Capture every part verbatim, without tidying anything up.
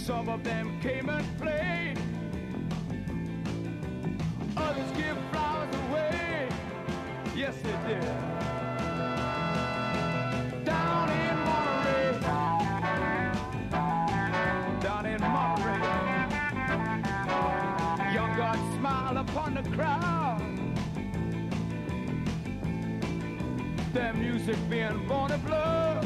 Some of them came and played. Others give flowers away. Yes, they did. Down in Monterey. Down in Monterey. Young God smiled upon the crowd. Their music being born of love.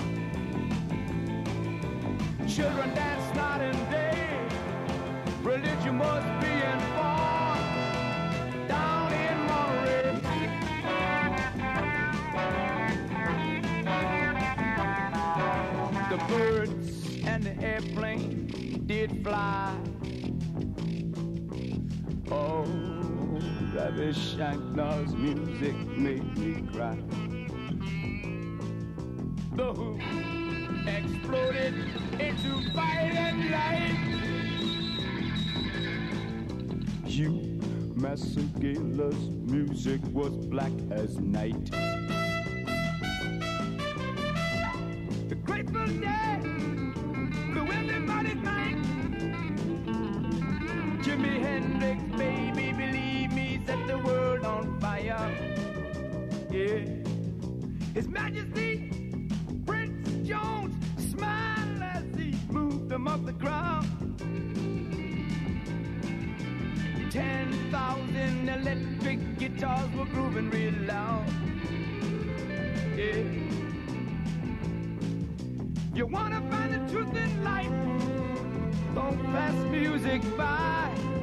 Children dance night and day. Religion was being born down in Monterey. The birds and the airplane did fly. Oh, Ravi Shankar's music made me cry. The Who exploded into fire and light. Hugh Masekela's music was black as night. The Grateful Dead blew everybody's mind. Jimi Hendrix, baby, believe me, set the world on fire. Yeah, His Majesty Prince Jones smiled as he moved them up the ground. Ten thousand electric guitars were grooving real loud. Yeah. You wanna find the truth in life? Don't pass music by.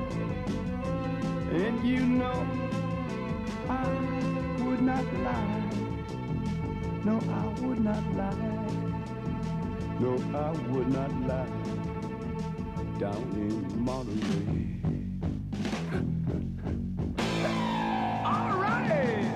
And you know I would not lie. No, I would not lie. No, I would not lie. Down in Monterey. All right.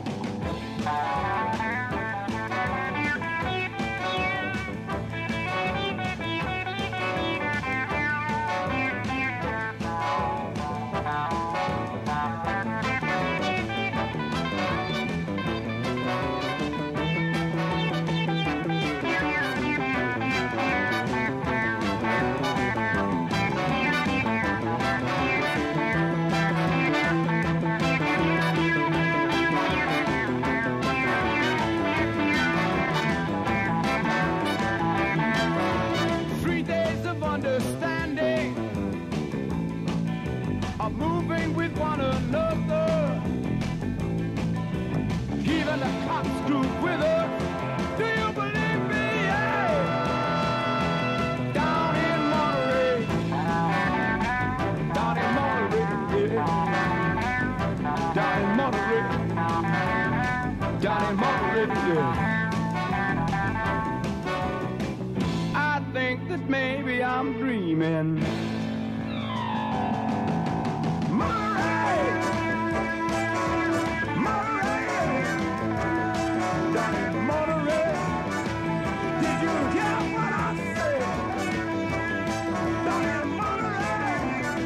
I think that maybe I'm dreaming. Monterey, Monterey, down in Monterey. Did you hear what I said? Down in Monterey,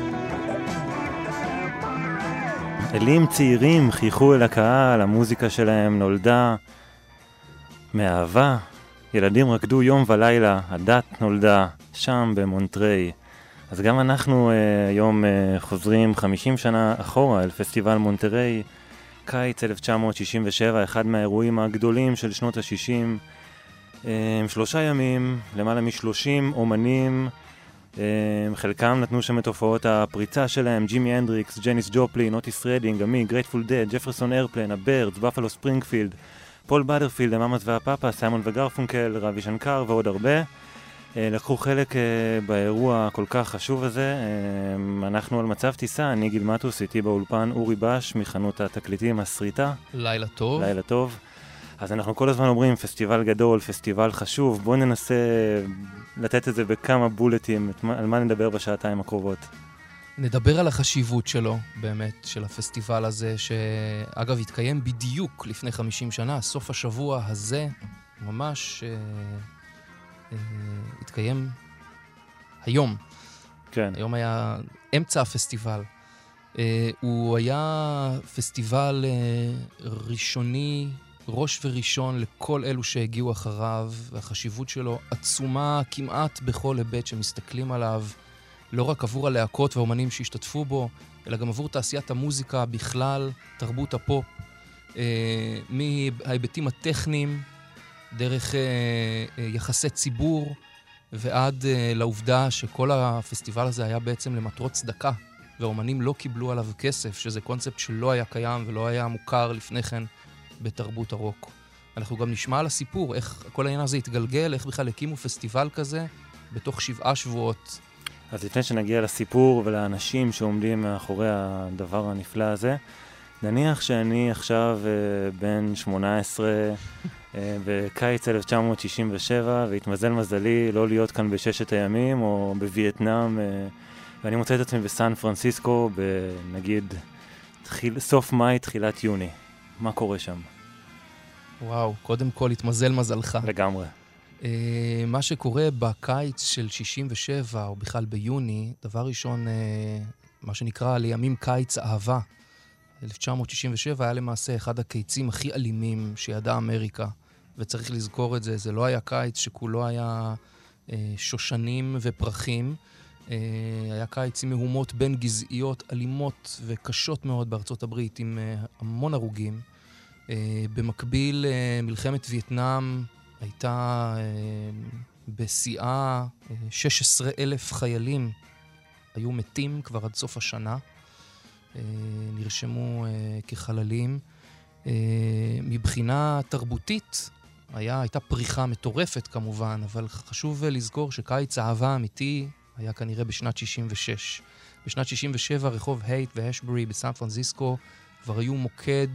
Monterey. אלים צעירים חייכו אל הקהל, המוזיקה שלהם נולדה מאהבה. ילדים רקדו יום ולילה, הדת נולדה שם במונטריי. אז גם אנחנו uh, היום uh, חוזרים חמישים שנה אחורה אל פסטיבל מונטריי, קיץ אלף תשע מאות שישים ושבע, אחד מהאירועים הגדולים של שנות ה-שישים. Uh, שלושה ימים, למעלה מ-שלושים אומנים, uh, חלקם נתנו שם את הופעות הפריצה שלהם, ג'ימי הנדריקס, ג'ניס ג'ופלין, אוטיס רדינג, עמי, גרייטפול דד, ג'פרסון איירפלן, הבירדס, בפלו ספרינגפילד, פול בדרפילד, המאמאס והפאפה, סיימון וגרפונקל, רבי שנקר ועוד הרבה. לקחו חלק באירוע כל כך חשוב הזה. אנחנו על מצב טיסה, אני גיל מטוס, איתי באולפן אורי בש מחנות התקליטים הסריטה. לילה טוב. לילה טוב. אז אנחנו כל הזמן אומרים פסטיבל גדול, פסטיבל חשוב. בואו ננסה לתת את זה בכמה בולטים, על מה נדבר בשעתיים הקרובות. נדבר על החשיבות שלו, באמת, של הפסטיבל הזה, שאגב התקיים בדיוק לפני חמישים שנה, סוף השבוע הזה, ממש אה, אה, התקיים היום. כן. היום היה אמצע הפסטיבל. אה, הוא היה פסטיבל אה, ראשוני, ראש וראשון לכל אלו שהגיעו אחריו, והחשיבות שלו עצומה כמעט בכל היבט שמסתכלים עליו. לא רק עבור הלהקות והאומנים שהשתתפו בו, אלא גם עבור תעשיית המוזיקה בכלל, תרבות הפופ, אה, מההיבטים הטכניים, דרך אה, אה, יחסי ציבור, ועד אה, לעובדה שכל הפסטיבל הזה היה בעצם למטרות צדקה, והאומנים לא קיבלו עליו כסף, שזה קונספט שלא היה קיים ולא היה מוכר לפני כן בתרבות הרוק. אנחנו גם נשמע על הסיפור, איך כל העניין הזה התגלגל, איך בכלל הקימו פסטיבל כזה בתוך שבעה שבועות. אז לפני שנגיע לסיפור ולאנשים שעומדים מאחורי הדבר הנפלא הזה, נניח שאני עכשיו uh, בן שמונה עשרה uh, בקיץ אלף תשע מאות שישים ושבע, והתמזל מזלי לא להיות כאן בששת הימים או בווייטנאם, uh, ואני מוצא את עצמי בסן פרנסיסקו בנגיד תחיל, סוף מאי, תחילת יוני. מה קורה שם? וואו, קודם כל התמזל מזלך. לגמרי. Uh, מה שקורה בקיץ של שישים ושבע, או בכלל ביוני, דבר ראשון, uh, מה שנקרא לימים קיץ אהבה. אלף תשע מאות שישים ושבע היה למעשה אחד הקיצים הכי אלימים שידעה אמריקה, וצריך לזכור את זה, זה לא היה קיץ שכולו היה uh, שושנים ופרחים, uh, היה קיץ עם מהומות בין גזעיות אלימות וקשות מאוד בארצות הברית, עם uh, המון הרוגים. Uh, במקביל, uh, מלחמת וייטנאם הייתה uh, בשיאה, uh, שש עשרה אלף חיילים היו מתים כבר עד סוף השנה, uh, נרשמו uh, כחללים. Uh, מבחינה תרבותית היה, הייתה פריחה מטורפת כמובן, אבל חשוב uh, לזכור שקיץ האהבה האמיתי היה כנראה בשנת שישים ושש. בשנת שישים ושבע רחוב הייט והשברי בסן פרנסיסקו כבר היו מוקד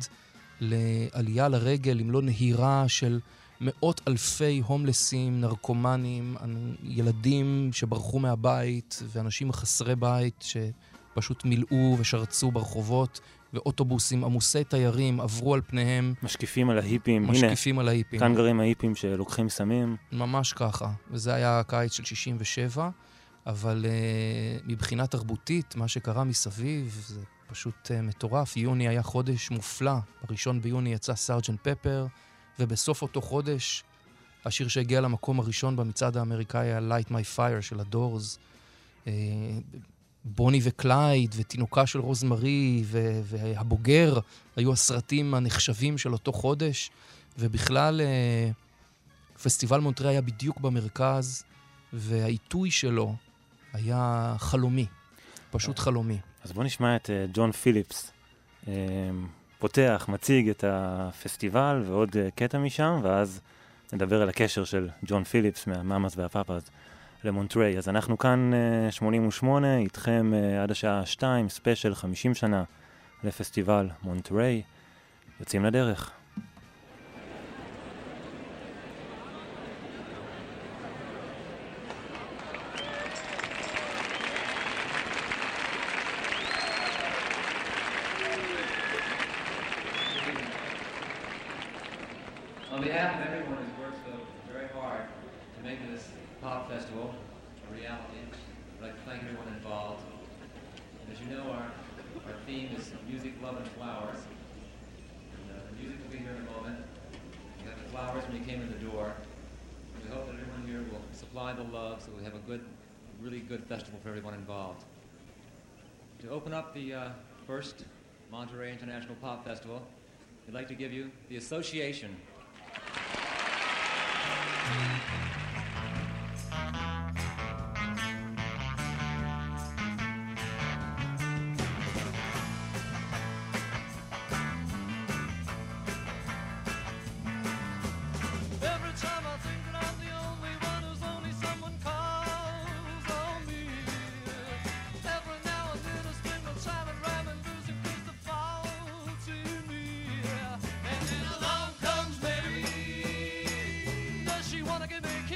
לעלייה לרגל, אם לא נהירה של מאות אלפי הומלסים, נרקומנים, ילדים שברחו מהבית, ואנשים חסרי בית שפשוט מילאו ושרצו ברחובות, ואוטובוסים עמוסי תיירים עברו על פניהם. משקיפים על ההיפים. משקיפים הנה, על ההיפים. כאן גרים ההיפים שלוקחים סמים. ממש ככה. וזה היה הקיץ של שישים ושבע, אבל uh, מבחינה תרבותית, מה שקרה מסביב, זה פשוט uh, מטורף. יוני היה חודש מופלא. בראשון ביוני יצא סארג'נט פפר, ובסוף אותו חודש, השיר שהגיע למקום הראשון במצעד האמריקאי היה Light My Fire של הדורס. Uh, בוני וקלייד ותינוקה של רוזמרי ו- והבוגר היו הסרטים הנחשבים של אותו חודש, ובכלל uh, פסטיבל מונטריי היה בדיוק במרכז, והעיתוי שלו היה חלומי, פשוט חלומי. אז בוא נשמע את uh, ג'ון פיליפס, uh, פותח, מציג את הפסטיבל ועוד uh, קטע משם, ואז נדבר על הקשר של ג'ון פיליפס מהמאמאס והפאפאז למונטריי. אז אנחנו כאן uh, שמונים ושמונה, איתכם uh, עד השעה שתיים, ספיישל חמישים שנה לפסטיבל מונטריי. יוצאים לדרך. On behalf of everyone who's worked so very hard to make this pop festival a reality, I'd like to thank everyone involved. As you know, our, our theme is music, love, and flowers. And, uh, the music will be here in a moment. You got the flowers when you came in the door. We hope that everyone here will supply the love so we have a good, really good festival for everyone involved. To open up the uh, first Monterey International Pop Festival, we'd like to give you the Association. Wanna give me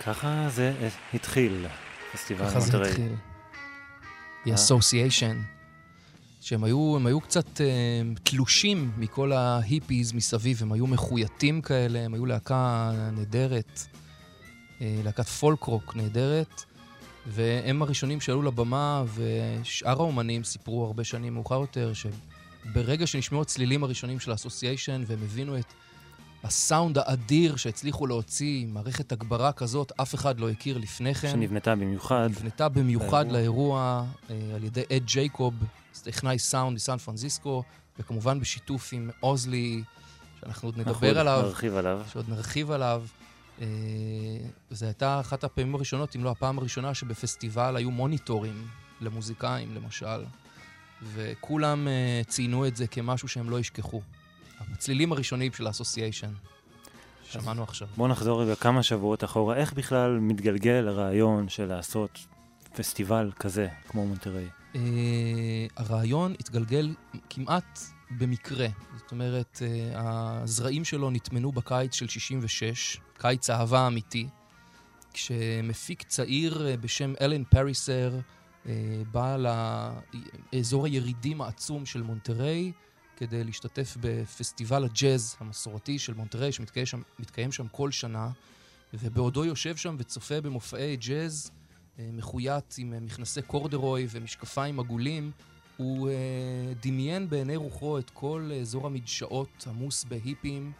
ככה זה התחיל, פסטיבל מונטריי. ככה זה התחיל. The Association, שהם היו, הם היו קצת אה, תלושים מכל ההיפיז מסביב, הם היו מחויטים כאלה, הם היו להקה נהדרת, אה, להקת פולק-רוק נהדרת, והם הראשונים שעלו לבמה, ושאר האומנים סיפרו הרבה שנים מאוחר יותר, שברגע שנשמעו הצלילים הראשונים של האסוסיישן, והם הבינו את הסאונד האדיר שהצליחו להוציא, מערכת הגברה כזאת, אף אחד לא הכיר לפני כן. שנבנתה במיוחד. נבנתה במיוחד לאירוע, לאירוע על ידי אד ג'ייקוב, טכנאי סאונד מסן פרנסיסקו, וכמובן בשיתוף עם אוזלי, שאנחנו עוד נדבר עליו. נרחיב עליו. שעוד נרחיב עליו. זו הייתה אחת הפעמים הראשונות, אם לא הפעם הראשונה, שבפסטיבל היו מוניטורים למוזיקאים, למשל. וכולם ציינו את זה כמשהו שהם לא ישכחו. הצלילים הראשונים של האסוסיישן. שמענו עכשיו. בואו נחזור רגע כמה שבועות אחורה. איך בכלל מתגלגל הרעיון של לעשות פסטיבל כזה, כמו מונטריי? Uh, הרעיון התגלגל כמעט במקרה. זאת אומרת, uh, הזרעים שלו נטמנו בקיץ של שישים ושש, קיץ אהבה אמיתי, כשמפיק צעיר uh, בשם אלן פריסר uh, בא לאזור הירידים העצום של מונטריי, כדי להשתתף בפסטיבל הג'אז המסורתי של מונטריי, שמתקיים שם, מתקיים שם כל שנה, ובעודו יושב שם וצופה במופעי ג'אז, מחויית עם מכנסי קורדרוי ומשקפיים עגולים, הוא דמיין בעיני רוחו את כל אזור המדשאות עמוס בהיפים,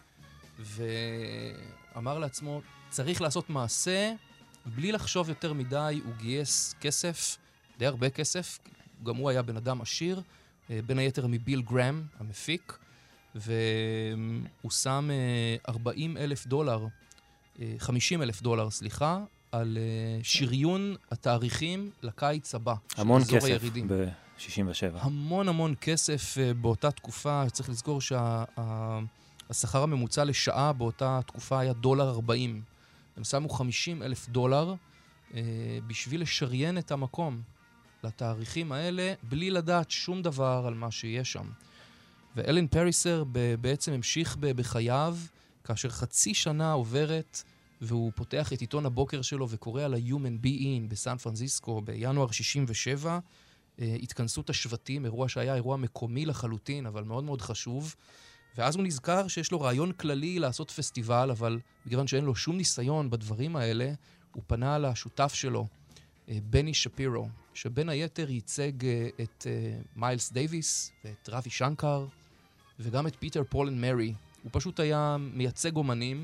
ואמר לעצמו, צריך לעשות מעשה, בלי לחשוב יותר מדי, הוא גייס כסף, די הרבה כסף, גם הוא היה בן אדם עשיר, בין היתר מביל גרם, המפיק, והוא שם ארבעים אלף דולר, חמישים אלף דולר, סליחה, על שריון התאריכים לקיץ הבא. המון כסף ב-שישים ושבע. המון המון כסף באותה תקופה. צריך לזכור שהשכר הממוצע לשעה באותה תקופה היה דולר ארבעים. הם שמו חמישים אלף דולר בשביל לשריין את המקום לתאריכים האלה, בלי לדעת שום דבר על מה שיש שם. ואלן פריסר בעצם המשיך בחייו, כאשר חצי שנה עוברת, והוא פותח את עיתון הבוקר שלו וקורא על ה-Human Being בסן פרנסיסקו בינואר שישים ושבע, התכנסות השבטים, אירוע שהיה אירוע מקומי לחלוטין, אבל מאוד מאוד חשוב. ואז הוא נזכר שיש לו רעיון כללי לעשות פסטיבל, אבל בגלל שאין לו שום ניסיון בדברים האלה, הוא פנה לשותף שלו, בני שפירו, שבין היתר ייצג את מיילס דייביס ואת רבי שנקר, וגם את פיטר פול אנד מרי. הוא פשוט היה מייצג אומנים,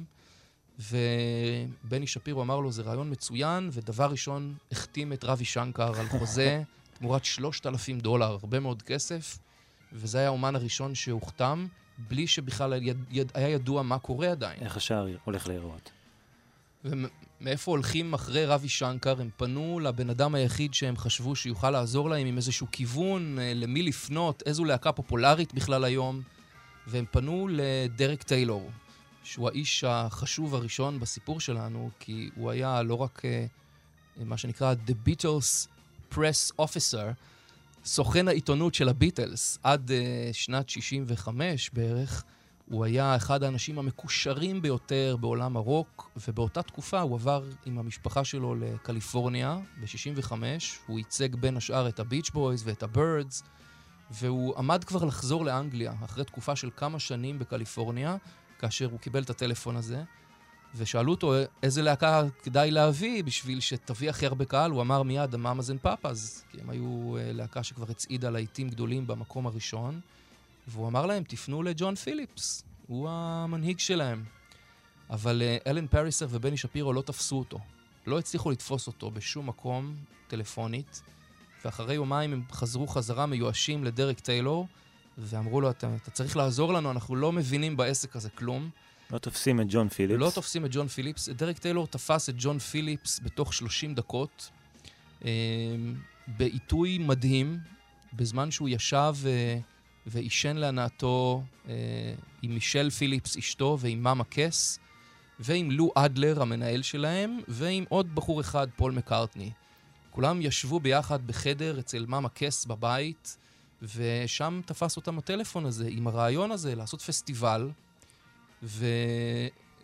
ובני שפירו אמר לו, זה רעיון מצוין, ודבר ראשון החתים את רבי שנקר על חוזה תמורת שלושת אלפים דולר, הרבה מאוד כסף, וזה היה האומן הראשון שהוחתם, בלי שבכלל היה ידוע מה קורה עדיין. איך השער הולך להיראות? ומאיפה הולכים אחרי רבי שנקר? הם פנו לבן אדם היחיד שהם חשבו שיוכל לעזור להם עם איזשהו כיוון, למי לפנות, איזו להקה פופולרית בכלל היום, והם פנו לדרק טיילור, שהוא האיש החשוב הראשון בסיפור שלנו, כי הוא היה לא רק uh, מה שנקרא The Beatles Press Officer, סוכן העיתונות של הביטלס, עד uh, שנת שישים וחמש בערך, הוא היה אחד האנשים המקושרים ביותר בעולם הרוק, ובאותה תקופה הוא עבר עם המשפחה שלו לקליפורניה ב-שישים וחמש, הוא ייצג בין השאר את הביץ' בויז ואת הבירדס, והוא עמד כבר לחזור לאנגליה, אחרי תקופה של כמה שנים בקליפורניה, כאשר הוא קיבל את הטלפון הזה, ושאלו אותו איזה להקה כדאי להביא בשביל שתביא הכי הרבה קהל, הוא אמר מיד המאמאז אנד פאפאז, כי הם היו להקה שכבר הצעידה להיטים גדולים במקום הראשון, והוא אמר להם, תפנו לג'ון פיליפס, הוא המנהיג שלהם. אבל אלן פריסר ובני שפירו לא תפסו אותו, לא הצליחו לתפוס אותו בשום מקום טלפונית, ואחרי יומיים הם חזרו חזרה מיואשים לדרק טיילור, ואמרו לו, אתה, אתה צריך לעזור לנו, אנחנו לא מבינים בעסק הזה כלום. לא תופסים את ג'ון פיליפס. לא תופסים את ג'ון פיליפס. דרק טיילור תפס את ג'ון פיליפס בתוך שלושים דקות, אה, בעיתוי מדהים, בזמן שהוא ישב אה, ואישן להנאתו אה, עם מישל פיליפס אשתו ועם מאמה קס, ועם לו אדלר המנהל שלהם, ועם עוד בחור אחד, פול מקארטני. כולם ישבו ביחד בחדר אצל מאמה קס בבית, ושם תפס אותם הטלפון הזה, עם הרעיון הזה, לעשות פסטיבל,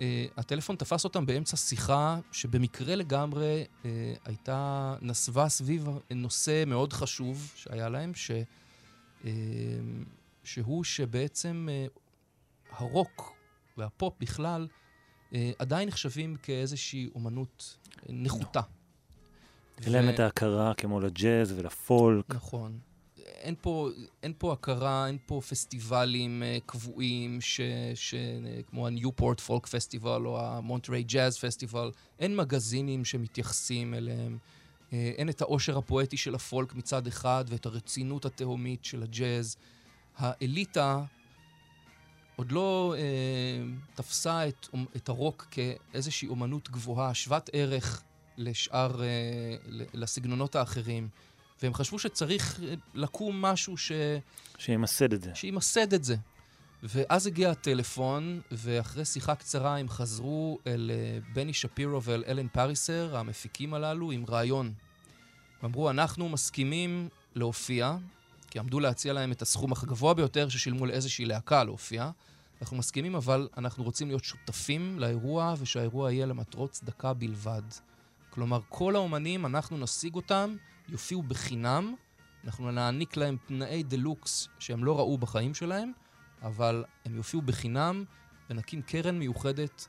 והטלפון תפס אותם באמצע שיחה שבמקרה לגמרי uh, הייתה נסבה סביב נושא מאוד חשוב שהיה להם, ש, uh, שהוא שבעצם uh, הרוק והפופ בכלל uh, עדיין נחשבים כאיזושהי אומנות נחותה. אין להם את ההכרה כמו לג'אז ולפולק. נכון. אין פה, אין פה הכרה, אין פה פסטיבלים uh, קבועים ש, ש, uh, כמו הניופורט פולק פסטיבל או המונטריי ג'אז פסטיבל. אין מגזינים שמתייחסים אליהם. Uh, אין את העושר הפואטי של הפולק מצד אחד ואת הרצינות התהומית של הג'אז. האליטה עוד לא uh, תפסה את, את הרוק כאיזושהי אומנות גבוהה, שוות ערך לשאר, uh, לסגנונות האחרים. והם חשבו שצריך לקום משהו ש... שימסד את זה. שימסד את זה. ואז הגיע הטלפון, ואחרי שיחה קצרה הם חזרו אל בני שפירו ואל אלן פריסר, המפיקים הללו, עם רעיון. הם אמרו, אנחנו מסכימים להופיע, כי עמדו להציע להם את הסכום הגבוה ביותר ששילמו לאיזושהי להקה להופיע. אנחנו מסכימים, אבל אנחנו רוצים להיות שותפים לאירוע, ושהאירוע יהיה למטרות צדקה בלבד. כלומר, כל האומנים, אנחנו נשיג אותם, יופיעו בחינם, אנחנו נעניק להם תנאי דלוקס שהם לא ראו בחיים שלהם, אבל הם יופיעו בחינם ונקים קרן מיוחדת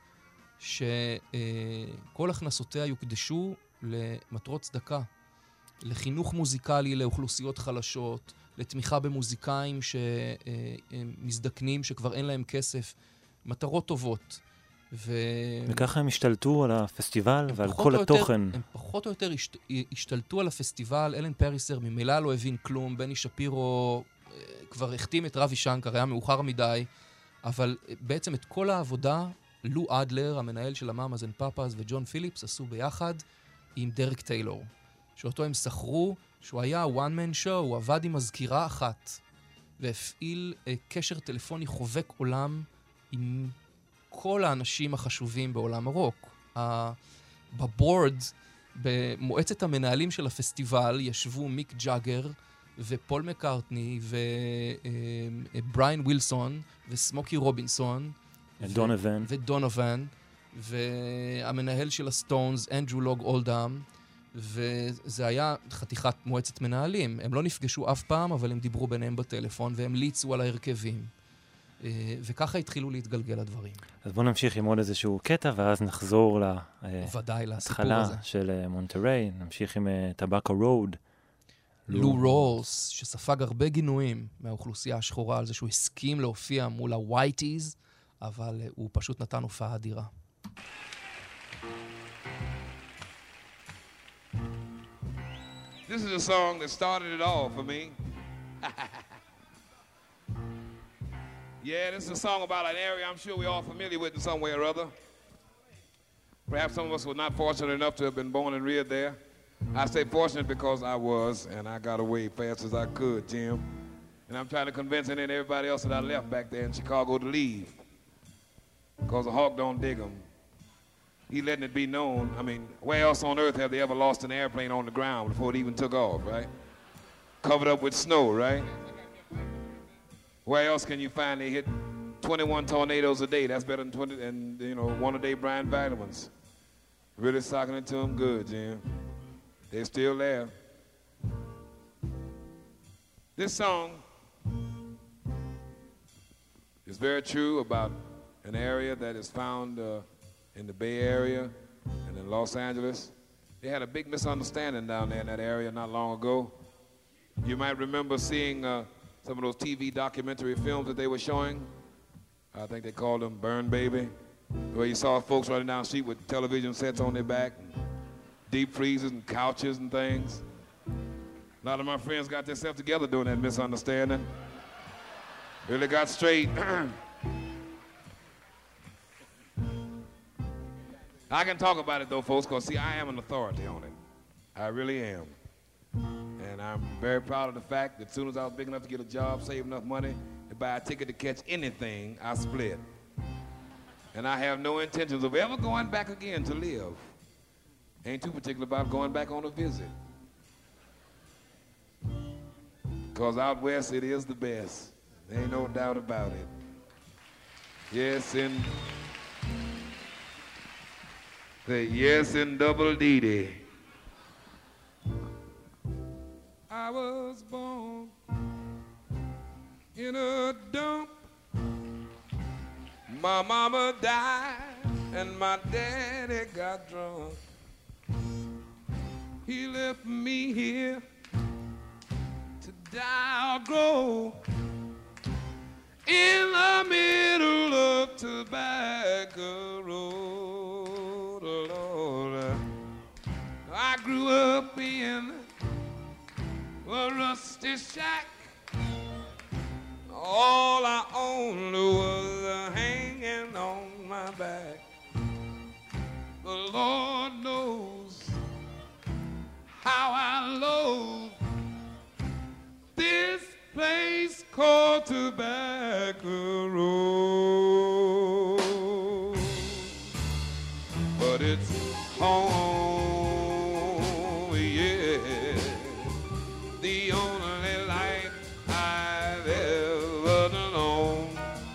שכל הכנסותיה יוקדשו למטרות צדקה, לחינוך מוזיקלי לאוכלוסיות חלשות, לתמיכה במוזיקאים שמזדקנים שכבר אין להם כסף, מטרות טובות. ו... וככה הם השתלטו על הפסטיבל ועל כל התוכן. יותר, הם פחות או יותר השת... השתלטו על הפסטיבל. אלן פריסר ממילא לא הבין כלום, בני שפירו כבר החתים את רבי שנקר, היה מאוחר מדי, אבל בעצם את כל העבודה, לו אדלר, המנהל של המאמאז אנד פאפאז, וג'ון פיליפס עשו ביחד עם דרק טיילור, שאותו הם שכרו, שהוא היה one man show, הוא עבד עם מזכירה אחת, והפעיל uh, קשר טלפוני חובק עולם עם כל האנשים החשובים בעולם הרוק. Uh, בבורד, במועצת המנהלים של הפסטיבל, ישבו מיק ג'אגר, ופול מקארטני, ובריין uh, ווילסון, וסמוקי רובינסון, ודונובן. ודונובן, והמנהל של הסטונס, אנדרו לוג אולדאם, וזה היה חתיכת מועצת מנהלים. הם לא נפגשו אף פעם, אבל הם דיברו ביניהם בטלפון, והם ליצו על ההרכבים. וככה התחילו להתגלגל הדברים. אז בואו נמשיך עם עוד איזשהו קטע, ואז נחזור להתחלה של מונטריי. נמשיך עם טבאקו רוד. לו רולס, שספג הרבה גינויים מהאוכלוסייה השחורה על זה שהוא הסכים להופיע מול הווייטיז, אבל הוא פשוט נתן הופעה אדירה. This is a song that started it all for me. Yeah, this is a song about an area I'm sure we're all familiar with in some way or other. Perhaps some of us were not fortunate enough to have been born and reared there. I say fortunate because I was, and I got away fast as I could, Jim. And I'm trying to convince any and everybody else that I left back there in Chicago to leave. Because the hawk don't dig them. He letting it be known. I mean, where else on earth have they ever lost an airplane on the ground before it even took off, right? Covered up with snow, right? Where else can you find they hit twenty-one tornadoes a day? That's better than twenty, and you know, one a day Brian vitamins. Really socking it to them good, Jim. They're still there. This song is very true about an area that is found uh, in the Bay Area and in Los Angeles. They had a big misunderstanding down there in that area not long ago. You might remember seeing uh, some of those T V documentary films that they were showing. I think they called them Burn Baby, where you saw folks running down the street with television sets on their back, and deep freezers and couches and things. A lot of my friends got themselves together during that misunderstanding. Really got straight. I can talk about it though, folks, because see, I am an authority on it. I really am. And I'm very proud of the fact that as soon as I was big enough to get a job, save enough money to buy a ticket to catch anything, I split. And I have no intentions of ever going back again to live. Ain't too particular about going back on a visit. Because out west it is the best. There ain't no doubt about it. Yes, and Say yes in double D-Day. I was born in a dump. My mama died and my daddy got drunk. He left me here to die or grow in the middle of Tobacco Road. Lord, I grew up in a rusty shack. All I owned was a hanging on my back. The Lord knows how I loathe this place called Tobacco Road. But it's home, yeah, the only life I've ever known.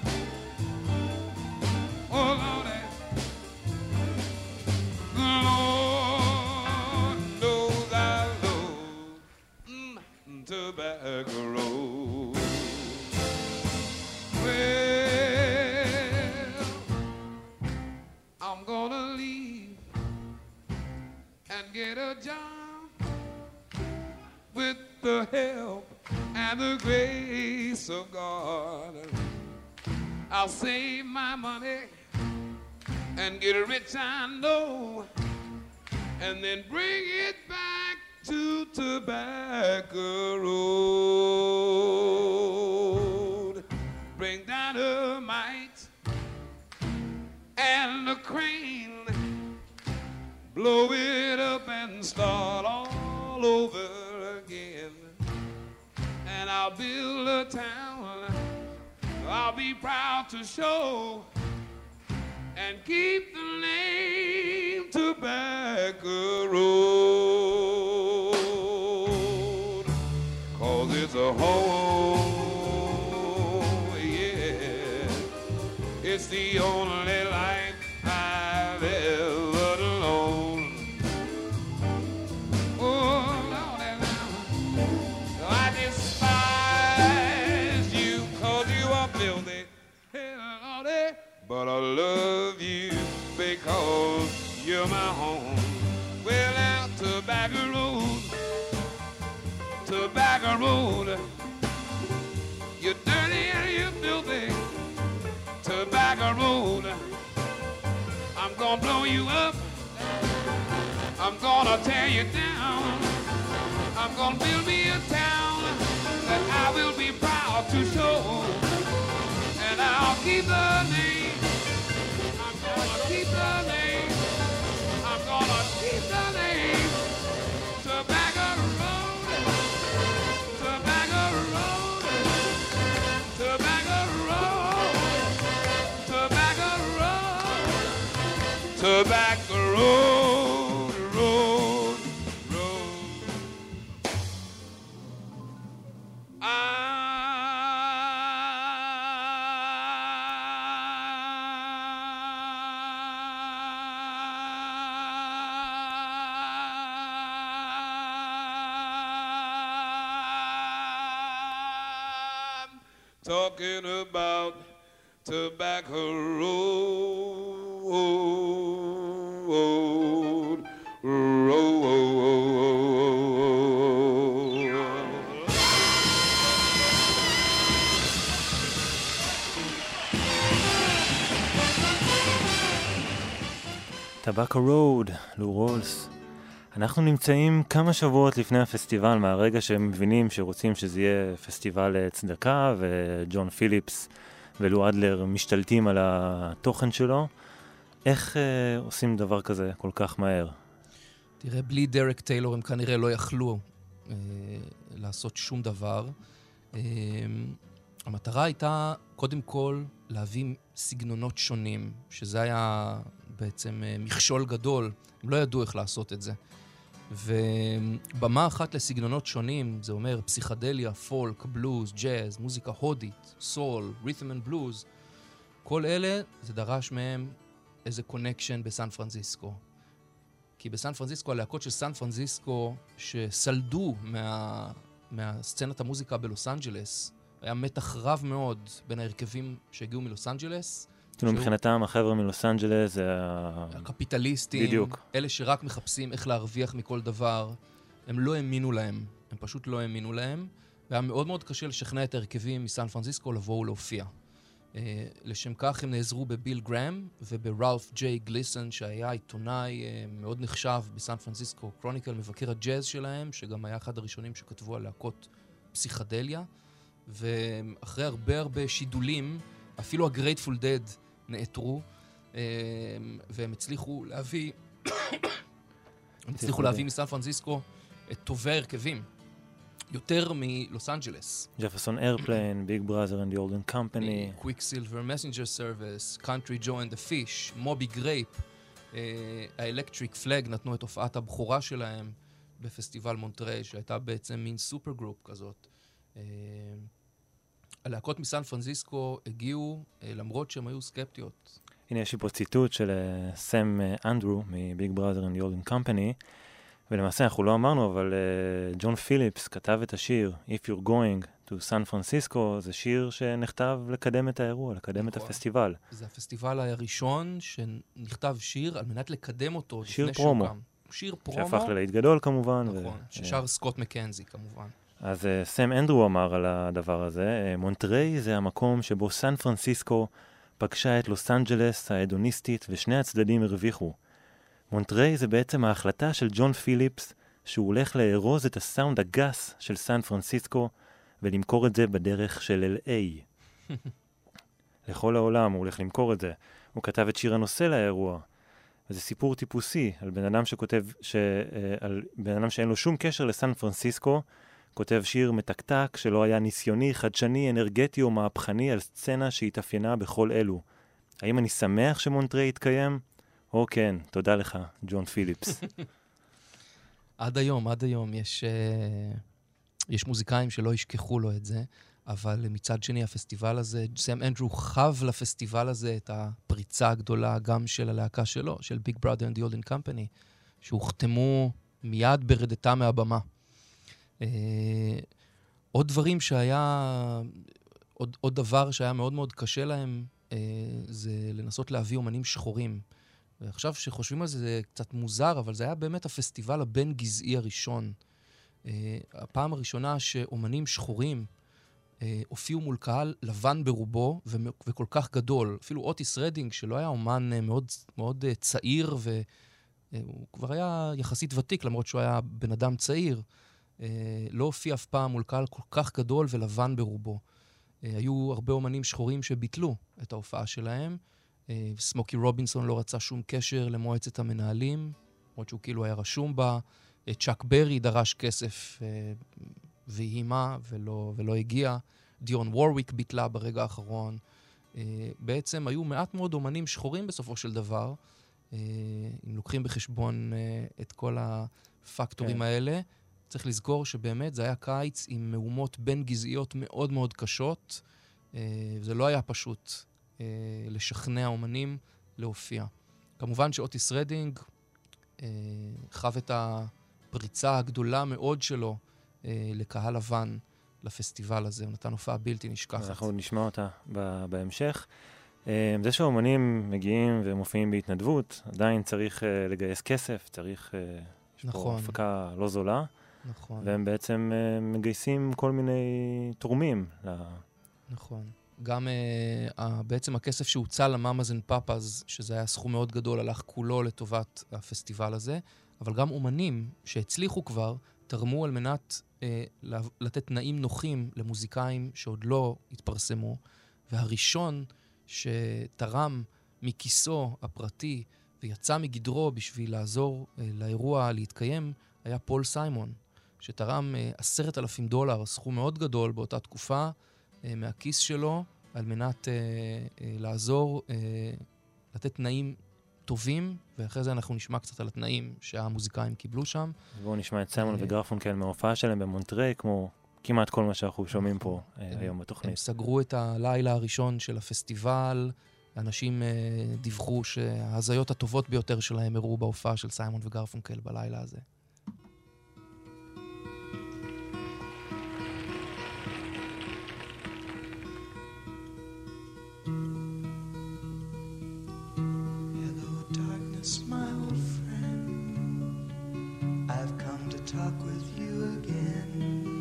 Oh, Lord, the Lord knows I love mm, Tobacco Road. Well, I'm gonna leave and get a job with the help and the grace of God. I'll save my money and get rich, I know, and then bring it back to Tobacco Road. Bring dynamite and a crane, blow it up and start all over again. And I'll build a town I'll be proud to show and keep the name Tobacco Road. 'Cause it's a home, yeah, it's the only life I've ever known. Oh, Lord, I despise you 'cause you are filthy, Lordy, but I love you because you're my home. Well, now, Tobacco Road, Tobacco Road, you're dirty and you're filthy, Tobacco Road. I'm gonna blow you up, I'm gonna tear you down, I'm gonna build me a town that I will be proud to show, and I'll keep the name, I'm gonna keep the name, I'm gonna keep the name, Tobacco Road, Tobacco Road, Tobacco Road, Tobacco Road, Tobacco Road, Road, Road. I'm talking about Tobacco Road, Road. טבקו רוד, לו רולס. אנחנו נמצאים כמה שבועות לפני הפסטיבל, מהרגע שהם מבינים שרוצים שזה יהיה פסטיבל צדקה, וג'ון פיליפס ולו אדלר משתלטים על התוכן שלו. איך אה, עושים דבר כזה כל כך מהר? תראה, בלי דרק טיילור הם כנראה לא יכלו אה, לעשות שום דבר. אה, המטרה הייתה קודם כל להביא סגנונות שונים, שזה היה בעצם אה, מכשול גדול. הם לא ידעו איך לעשות את זה. ובמה אחת לסגנונות שונים, זה אומר פסיכדליה, פולק, בלוז, ג'אז, מוזיקה הודית, סול, רית'ם אנד בלוז, כל אלה זה דרש מהם איזה קונקשן בסן פרנסיסקו. כי בסן פרנסיסקו, הלהקות של סן פרנסיסקו שסלדו מה, מהסצנת המוזיקה בלוס אנג'לס, היה מתח רב מאוד בין ההרכבים שהגיעו מלוס אנג'לס. כאילו מבחינתם החבר'ה מלוס אנג'לס זה הקפיטליסטים, בדיוק. אלה שרק מחפשים איך להרוויח מכל דבר, הם לא האמינו להם, הם פשוט לא האמינו להם, והיה מאוד מאוד קשה לשכנע את ההרכבים מסן פרנסיסקו לבוא ולהופיע. Uh, לשם כך הם נעזרו בביל גרם ובראלף ג'יי גליסון, שהיה עיתונאי uh, מאוד נחשב בסן פרנסיסקו קרוניקל, מבקר הג'אז שלהם, שגם היה אחד הראשונים שכתבו על להקות פסיכדליה. ואחרי הרבה הרבה שידולים, אפילו הגרייטפול דד נעתרו, uh, והם הצליחו להביא הם הצליחו להביא מסן פרנסיסקו את טובי ההרכבים, יותר מלוס אנג'לס. ג'פרסון איירפליין, ביג בראזר אנד די אולדן קמפני, קוויקסילבר מסנג'ר סרוויס, קאנטרי ג'ו אנד דה פיש, מובי גרייפ, האלקטריק פלאג נתנו את הופעת הבכורה שלהם בפסטיבל מונטריי, שהייתה בעצם מין סופר גרופ כזאת. Uh, הלהקות מסן פרנסיסקו הגיעו uh, למרות שהם היו סקפטיות. הנה יש לי פה ציטוט של uh, סם uh, אנדרו מביג בראזר אנד די אולדן קמפני, ולמעשה אנחנו לא אמרנו, אבל ג'ון uh, פיליפס כתב את השיר If You're Going to San Francisco, זה שיר שנכתב לקדם את האירוע, לקדם נכון. את הפסטיבל. זה הפסטיבל הראשון שנכתב שיר על מנת לקדם אותו. שיר פרומו. שוקם. שיר פרומו. שהפך ללהיט גדול כמובן. נכון, ו... ששר סקוט מקנזי כמובן. אז uh, סם אנדרו אמר על הדבר הזה, uh, מונטריי זה המקום שבו סן פרנסיסקו פגשה את לוס אנג'לס ההדוניסטית ושני הצדדים הרוויחו. מונטריי זה בעצם ההחלטה של ג'ון פיליפס שהוא הולך לארוז את הסאונד הגס של סן פרנסיסקו ולמכור את זה בדרך של אל איי. לכל העולם הוא הולך למכור את זה. הוא כתב את שיר הנושא לאירוע. וזה סיפור טיפוסי על בן אדם שכותב, ש... על בן אדם שאין לו שום קשר לסן פרנסיסקו, כותב שיר מתקתק שלא היה ניסיוני, חדשני, אנרגטי או מהפכני על סצנה שהתאפיינה בכל אלו. האם אני שמח שמונטריי יתקיים? או כן, תודה לך, ג'ון פיליפס. עד היום, עד היום יש, uh, יש מוזיקאים שלא ישכחו לו את זה, אבל מצד שני הפסטיבל הזה, סם אנדרו חב לפסטיבל הזה את הפריצה הגדולה גם של הלהקה שלו, של ביג בראדר אנד די אולדן קמפני, שהוחתמו מיד ברדתה מהבמה. Uh, עוד דברים שהיה, עוד, עוד דבר שהיה מאוד מאוד קשה להם, uh, זה לנסות להביא אומנים שחורים. ועכשיו שחושבים על זה, זה קצת מוזר, אבל זה היה באמת הפסטיבל הבין גזעי הראשון. Uh, הפעם הראשונה שאומנים שחורים uh, הופיעו מול קהל לבן ברובו ו- וכל כך גדול. אפילו אוטיס רדינג, שלא היה אומן uh, מאוד, מאוד uh, צעיר, והוא uh, כבר היה יחסית ותיק, למרות שהוא היה בן אדם צעיר, uh, לא הופיע אף פעם מול קהל כל כך גדול ולבן ברובו. Uh, היו הרבה אומנים שחורים שביטלו את ההופעה שלהם, סמוקי רובינסון לא רצה שום קשר למועצת המנהלים, למרות שהוא כאילו היה רשום בה. צ'אק ברי דרש כסף והימה ולא, ולא הגיע. דיון וורוויק ביטלה ברגע האחרון. בעצם היו מעט מאוד אומנים שחורים בסופו של דבר, אם לוקחים בחשבון את כל הפקטורים כן. האלה. צריך לזכור שבאמת זה היה קיץ עם מהומות בין גזעיות מאוד מאוד קשות, זה לא היה פשוט לשכנע אומנים להופיע. כמובן שאוטיס רדינג חב את הפריצה הגדולה מאוד שלו לקהל לבן לפסטיבל הזה. הוא נתן הופעה בלתי נשכחת. אנחנו נשמע אותה בהמשך. זה שהאומנים מגיעים ומופיעים בהתנדבות, עדיין צריך לגייס כסף, צריך, יש פה הפקה לא זולה. נכון. והם בעצם מגייסים כל מיני תורמים. נכון. גם uh, בעצם הכסף שהוצא למאמאז אנד פאפאז, שזה היה סכום מאוד גדול, הלך כולו לטובת הפסטיבל הזה, אבל גם אומנים שהצליחו כבר, תרמו על מנת uh, לתת תנאים נוחים למוזיקאים שעוד לא התפרסמו, והראשון שתרם מכיסו הפרטי ויצא מגדרו בשביל לעזור uh, לאירוע להתקיים, היה פול סיימון, שתרם uh, עשרת אלפים דולר, סכום מאוד גדול באותה תקופה, מהכיס שלו, על מנת אה, אה, לעזור, אה, לתת תנאים טובים, ואחרי זה אנחנו נשמע קצת על התנאים שהמוזיקאים קיבלו שם. בואו נשמע את סיימון וגרפונקל מההופעה שלהם במונטריי, כמו כמעט כל מה שאנחנו שומעים פה אה, היום בתוכנית. הם סגרו את הלילה הראשון של הפסטיבל, אנשים דיווחו שההזיות הטובות ביותר שלהם הראו בהופעה של סיימון וגרפונקל בלילה הזה. Hello darkness, my old friend, I've come to talk with you again,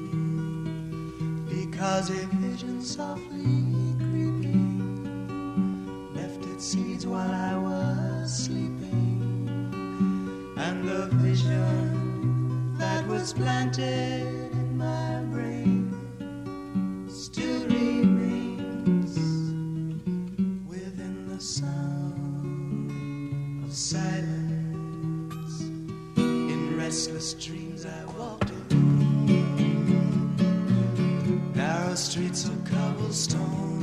because a vision softly creeping left its seeds while I was sleeping, and the vision that was planted in my brain still remains within the sound of silence. In restless dreams I walked alone, narrow streets of cobblestone,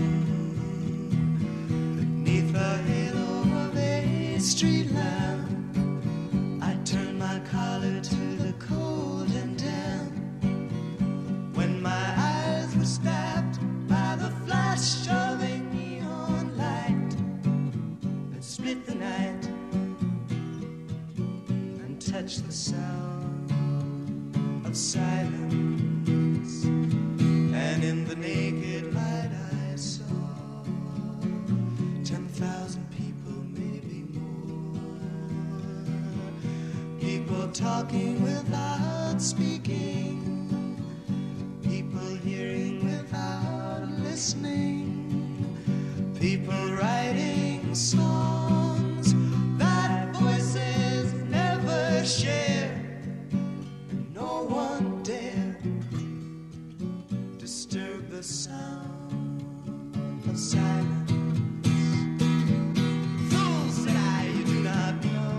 beneath the halo of a street lamp. I turned my collar to the cold and damp, when my eyes were stabbed by the flash of a neon light that split the night and touched the sound of silence. And in the naked light I saw ten thousand people, maybe more, people talking without speaking, people hearing without listening, people writing songs that voices never share, and no one dare disturb the sound of silence. Fools, said I, you do not know,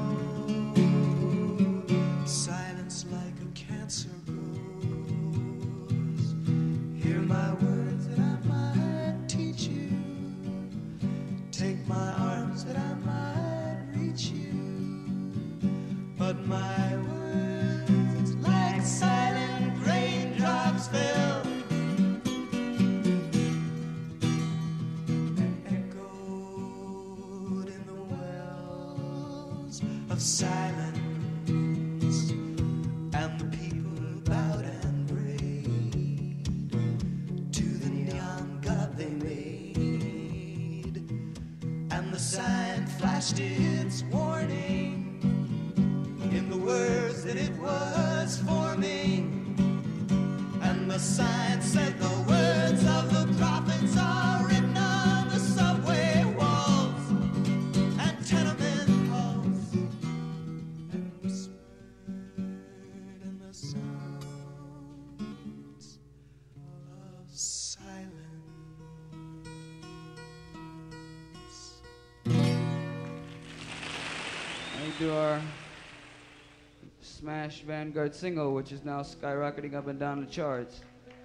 silence like a cancer grows. Hear my words that I might teach you, take my arms that I might reach you, but my words like silent raindrops fell and echoed in the wells of silence, and the people bowed and prayed to the neon god they made, and the sign flashed its warning in the words that it was forming, and the sign said the words of the prophets are written on the subway walls and tenement halls, and whispered in the sounds of silence. We do our smash Vanguard single, which is now skyrocketing up and down the charts.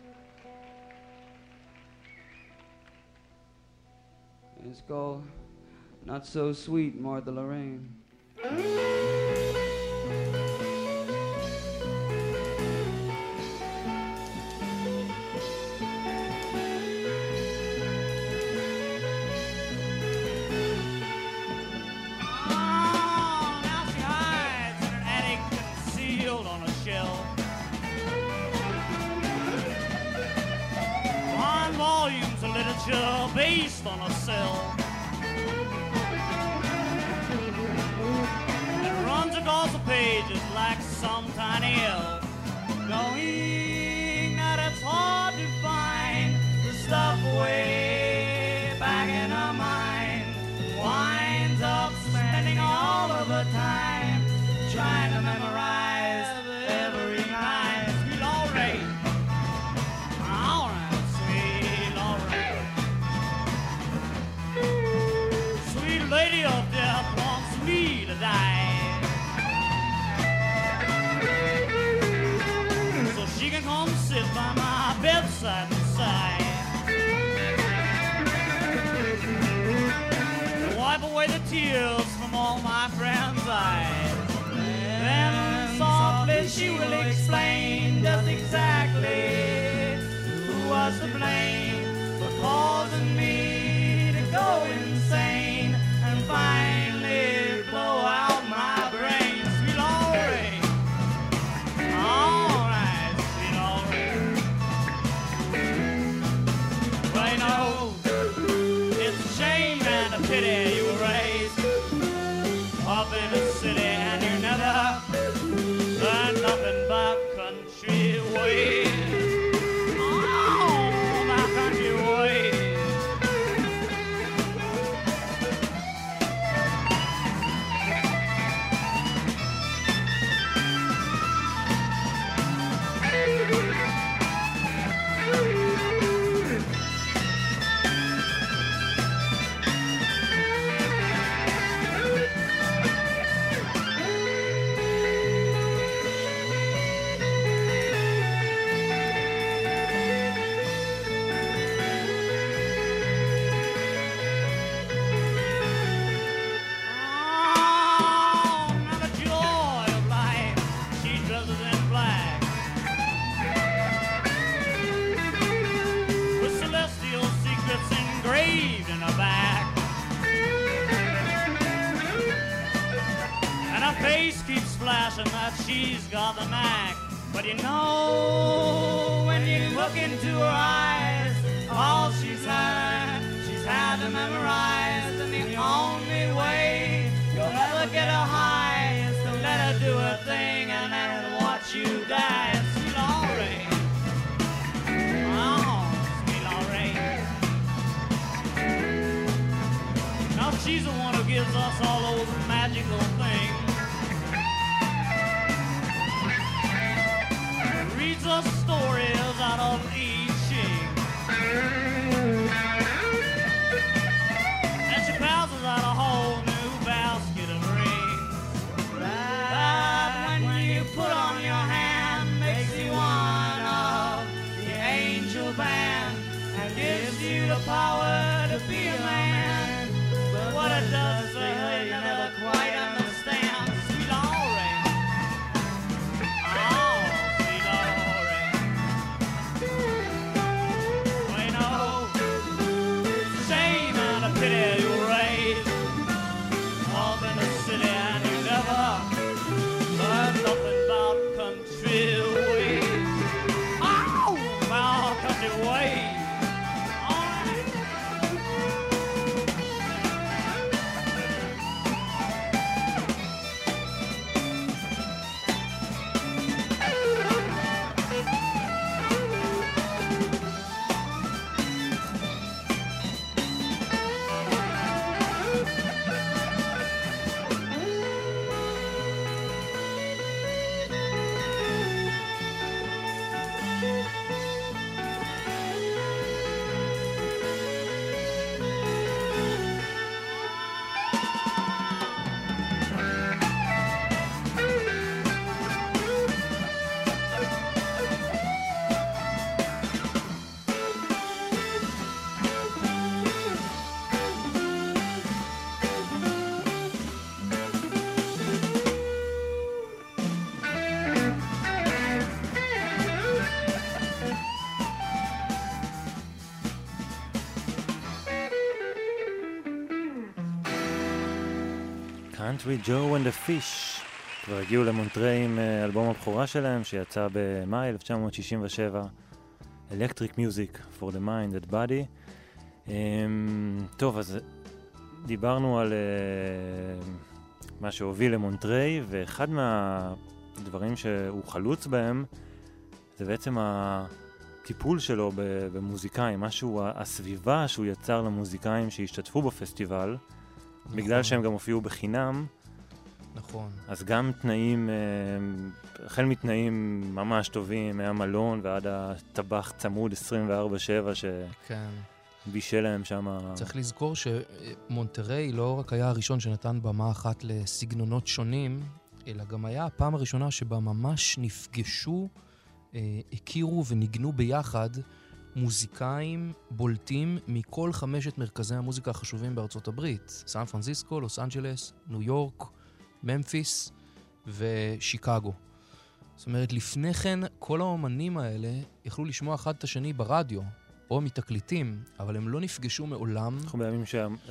And it's called Not So Sweet, Martha Lorraine. Based on a cell that runs across the pages like some tiny elf, knowing that it's hard to find the stuff way back in her mind, winds up spending all of her time trying to memorize every line. Sweet Lorraine, all right, sweet Lorraine. Lady of death wants me to die, so she can come sit by my bedside and sigh, and wipe away the tears from all my friends' eyes. Then fashion that she's got the knack. But you know, when you look into her eyes, all she's had, she's had to memorize. And the only way you'll ever get her high is to let her do her thing and then watch you die. Sweet Lorraine. Oh, sweet Lorraine. Now she's the one who gives us all those magical things. Reads us stories out of I Ching. And she passes out a whole new basket of rings. That when you put on your hand makes you one of the angel band and gives you the power to be a man. But what it does for her you never quite understand. Sweet Lorraine. Oh, sweet Lorraine. Well, you know, it's a shame and a pity you raised up in the city and you never learned nothing about country ways. Oh, about country ways. Country Joe and the Fish כבר הגיעו למונטריי עם אלבום הבכורה שלהם שיצא במאי אלף תשע מאות שישים ושבע, Electric Music for the Mind and Body. Um, טוב, אז דיברנו על uh, מה שהוביל למונטריי, ואחד מהדברים שהוא חלוץ בהם זה בעצם הטיפול שלו במוזיקאים, משהו, הסביבה שהוא יצר למוזיקאים שהשתתפו בפסטיבל, נכון. בגלל שהם גם הופיעו בחינם. נכון. אז גם תנאים, החל מתנאים ממש טובים, מהמלון ועד הטבח צמוד עשרים וארבע שבע שבישל כן. להם שם. צריך לזכור שמונטריי לא רק היה הראשון שנתן במה אחת לסגנונות שונים, אלא גם היה הפעם הראשונה שבה ממש נפגשו, הכירו וניגנו ביחד מוזיקאים בולטים מכל חמשת מרכזי המוזיקה החשובים בארצות הברית. סן פרנסיסקו, לוס אנג'לס, ניו יורק, ממפיס ושיקגו. זאת אומרת, לפני כן כל האומנים האלה יכלו לשמוע אחד את השני ברדיו או מתקליטים, אבל הם לא נפגשו מעולם. אנחנו בימים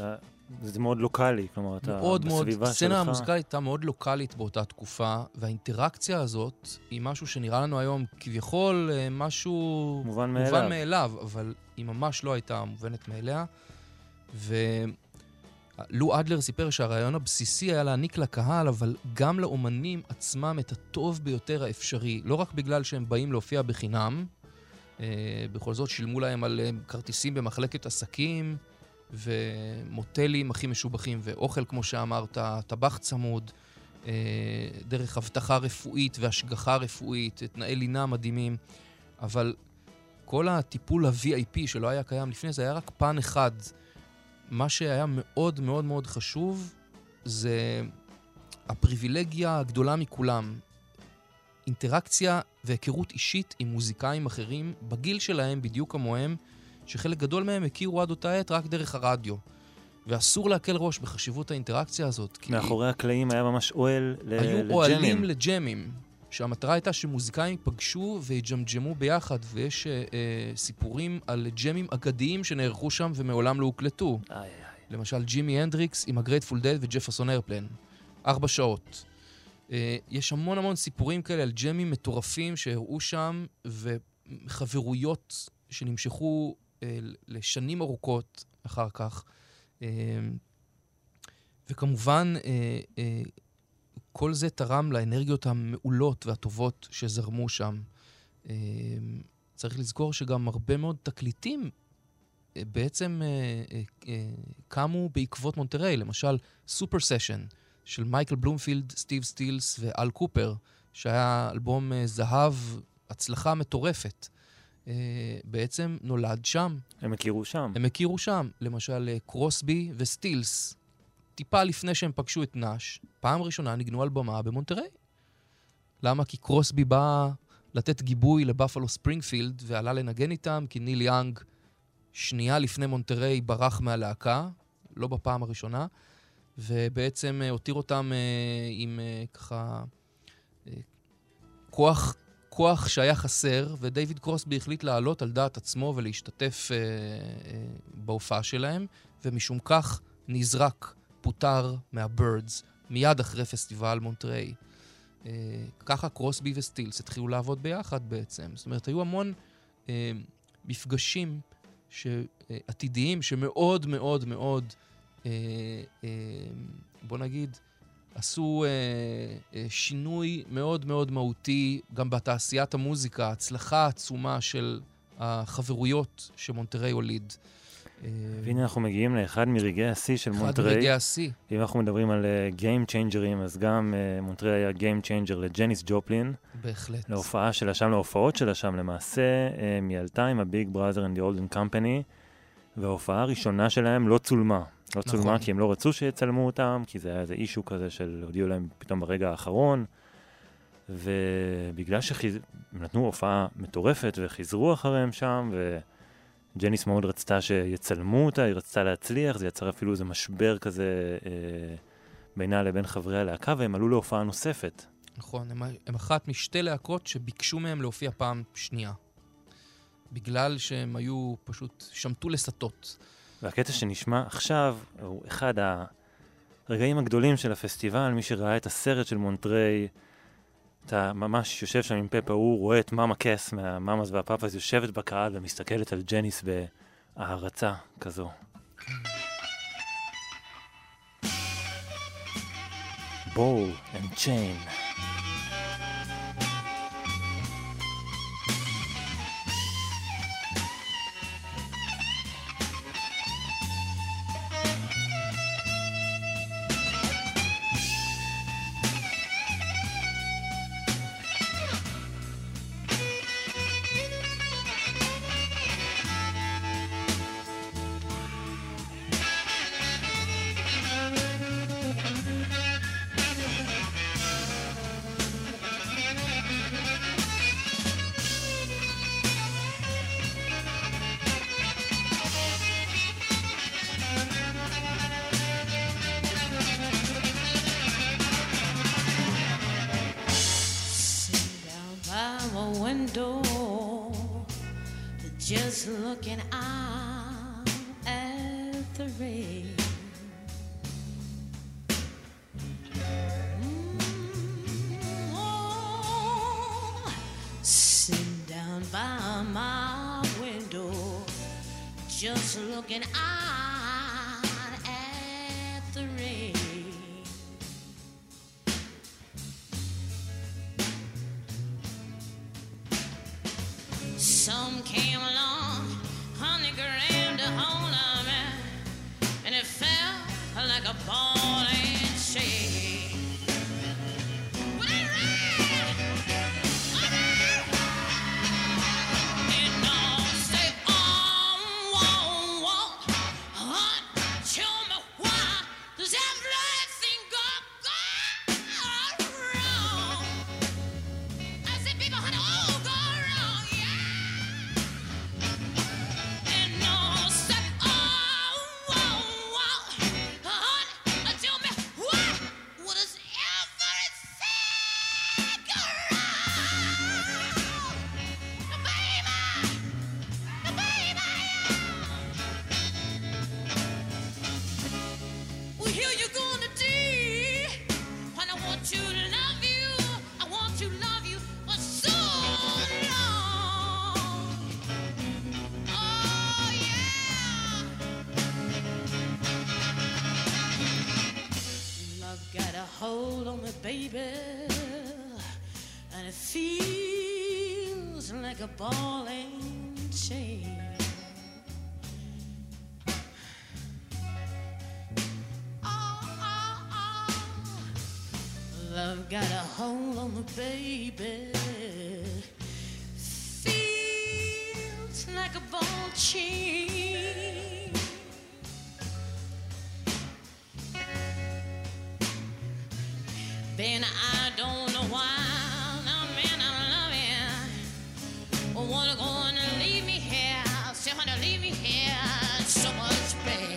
שזה מאוד לוקלי, כלומר, אתה מאוד בסביבה מאוד, שלך. הסצנה המוזיקלית הייתה מאוד לוקלית באותה תקופה, והאינטראקציה הזאת היא משהו שנראה לנו היום כביכול משהו מובן מאליו, מובן מאליו אבל היא ממש לא הייתה מובנת מאליה. ולו אדלר סיפר שהרעיון הבסיסי היה להעניק לקהל, אבל גם לאומנים עצמם את הטוב ביותר האפשרי, לא רק בגלל שהם באים להופיע בחינם, בכל זאת שילמו להם על כרטיסים במחלקת עסקים, ומוטלים הכי משובחים, ואוכל כמו שאמרת, טבח צמוד, דרך הבטחה רפואית והשגחה רפואית, תנאי לינה מדהימים, אבל כל הטיפול ה-וי איי פי שלא היה קיים לפני זה היה רק פן אחד. מה שהיה מאוד מאוד מאוד חשוב זה הפריבילגיה הגדולה מכולם, אינטראקציה והיכרות אישית עם מוזיקאים אחרים בגיל שלהם בדיוק כמוהם, שחלק גדול מהם הכירו עד אותה עת רק דרך הרדיו. ואסור להקל ראש בחשיבות האינטראקציה הזאת. מאחורי הקלעים היה ממש אוהל לג'מים. היו אוהלים לג'מים, שהמטרה הייתה שמוזיקאים ייפגשו ויג'מג'מו ביחד, ויש אה, אה, סיפורים על ג'מים אגדיים שנערכו שם ומעולם לא הוקלטו. איי, איי. למשל ג'ימי הנדריקס עם הגרייטפול דד וג'פרסון איירפלן. ארבע שעות. יש המון המון סיפורים כאלה על ג'מים מטורפים שהראו שם, וחברויות שנמשכו לשנים ארוכות אחר כך. וכמובן, כל זה תרם לאנרגיות המעולות והטובות שזרמו שם. צריך לזכור שגם הרבה מאוד תקליטים בעצם קמו בעקבות מונטריי. למשל, סופר סשן של מייקל בלומפילד, סטיב סטילס ואל קופר, שהיה אלבום זהב, הצלחה מטורפת. בעצם נולד שם. הם הכירו שם. הם הכירו שם. למשל, קרוסבי וסטילס, טיפה לפני שהם פגשו את נאש, פעם ראשונה ניגנו על במה במונטריי. למה? כי קרוסבי בא לתת גיבוי לבאפלו ספרינגפילד, ועלה לנגן איתם, כי ניל יאנג שנייה לפני מונטריי ברח מהלהקה, לא בפעם הראשונה, ובעצם הותיר אותם עם ככה כוח, כוח שהיה חסר, ודייוויד קרוסבי החליט לעלות על דעת עצמו ולהשתתף בהופעה שלהם, ומשום כך נזרק, פוטר מהבירדס, מיד אחרי פסטיבל מונטריי. ככה קרוסבי וסטילס התחילו לעבוד ביחד בעצם. זאת אומרת, היו המון מפגשים עתידיים שמאוד מאוד מאוד, בוא נגיד, עשו שינוי מאוד מאוד מהותי גם בתעשיית המוזיקה, הצלחה עצומה של החברויות שמונטריי הוליד. והנה אנחנו מגיעים לאחד מרגעי השיא של מונטריי. אחד מרגעי השיא. אם אנחנו מדברים על Game Changer'ים, אז גם מונטריי היה Game Changer לג'ניס ג'ופלין. בהחלט. להופעה שלה שם, להופעות שלה שם למעשה, היא עלתה עם ה-Big Brother and the Olden Company, וההופעה הראשונה שלהם לא צולמה. לא צולמה נכון. כי הם לא רצו שיצלמו אותם, כי זה היה איזה אישו כזה של הודיעו להם פתאום ברגע האחרון, ובגלל שהם נתנו הופעה מטורפת וחיזרו אחריהם שם, ו... ג'ניס מאוד רצתה שיצלמו אותה, היא רצתה להצליח, זה יצר אפילו איזה משבר כזה אה, בינה לבין חברי הלהקה, והם עלו להופעה נוספת. נכון, הם, הם אחת משתי להקות שביקשו מהם להופיע פעם שנייה. בגלל שהם היו פשוט שמטו לסטות. והקטע שנשמע עכשיו הוא אחד הרגעים הגדולים של הפסטיבל, מי שראה את הסרט של מונטריי, אתה ממש יושב שם עם פפה, הוא רואה את מאמה קס מהמאמאס והפאפאס, יושבת בקהל ומסתכלת על ג'ניס בהערצה כזו. בול and chain. Just looking out at the rain. Mm, oh, sitting down by my window, just looking out at the rain. Some came along, honey grabbed a hold of me, and it felt like a ball and chain. It don't stay on, won't walk, like a ball and chain. Love got a hold on the baby. Feels like a ball chain. Ben, I don't know why. Now, man, I'm loving. I wanna go and leave me here. Say, wanna leave me here. So much pain.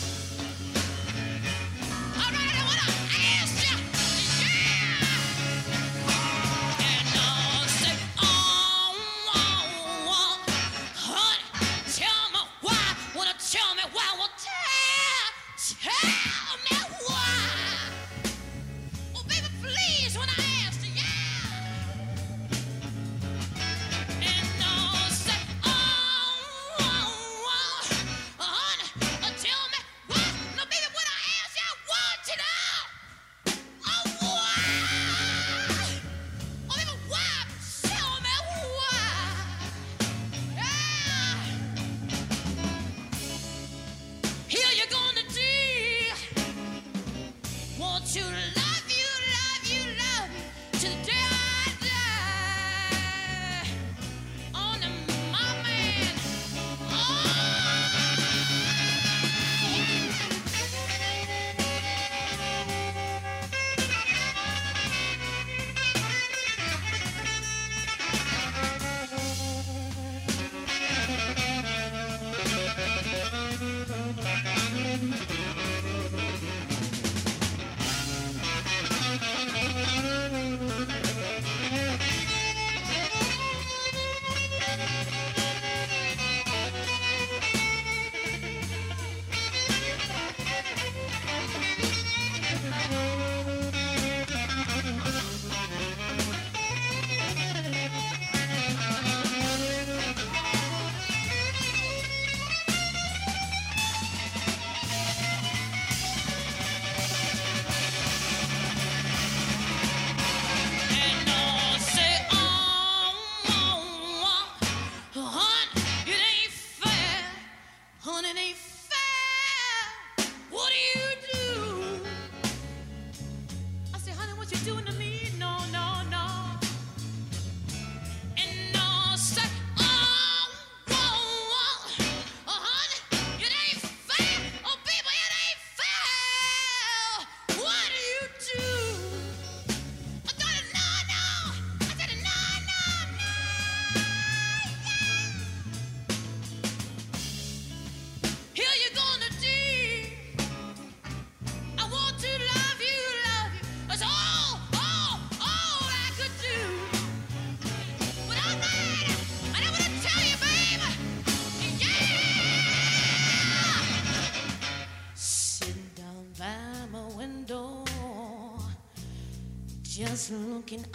Just looking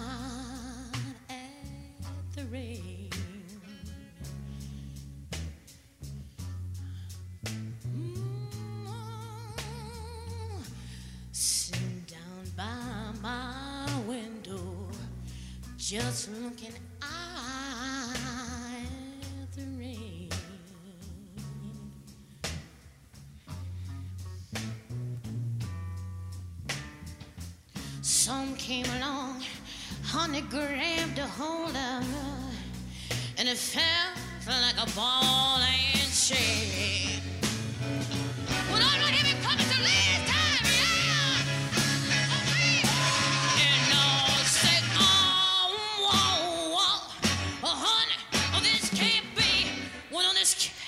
out at the rain. Mm-hmm. Sitting down by my window, just looking out at the rain. Some came along, honey grabbed a hold of her, and it felt like a ball and chain. Well, all right, here we come to the last time, yeah. And I'll say, oh, oh, oh, oh, honey, oh, this can't be. Well, no, this can't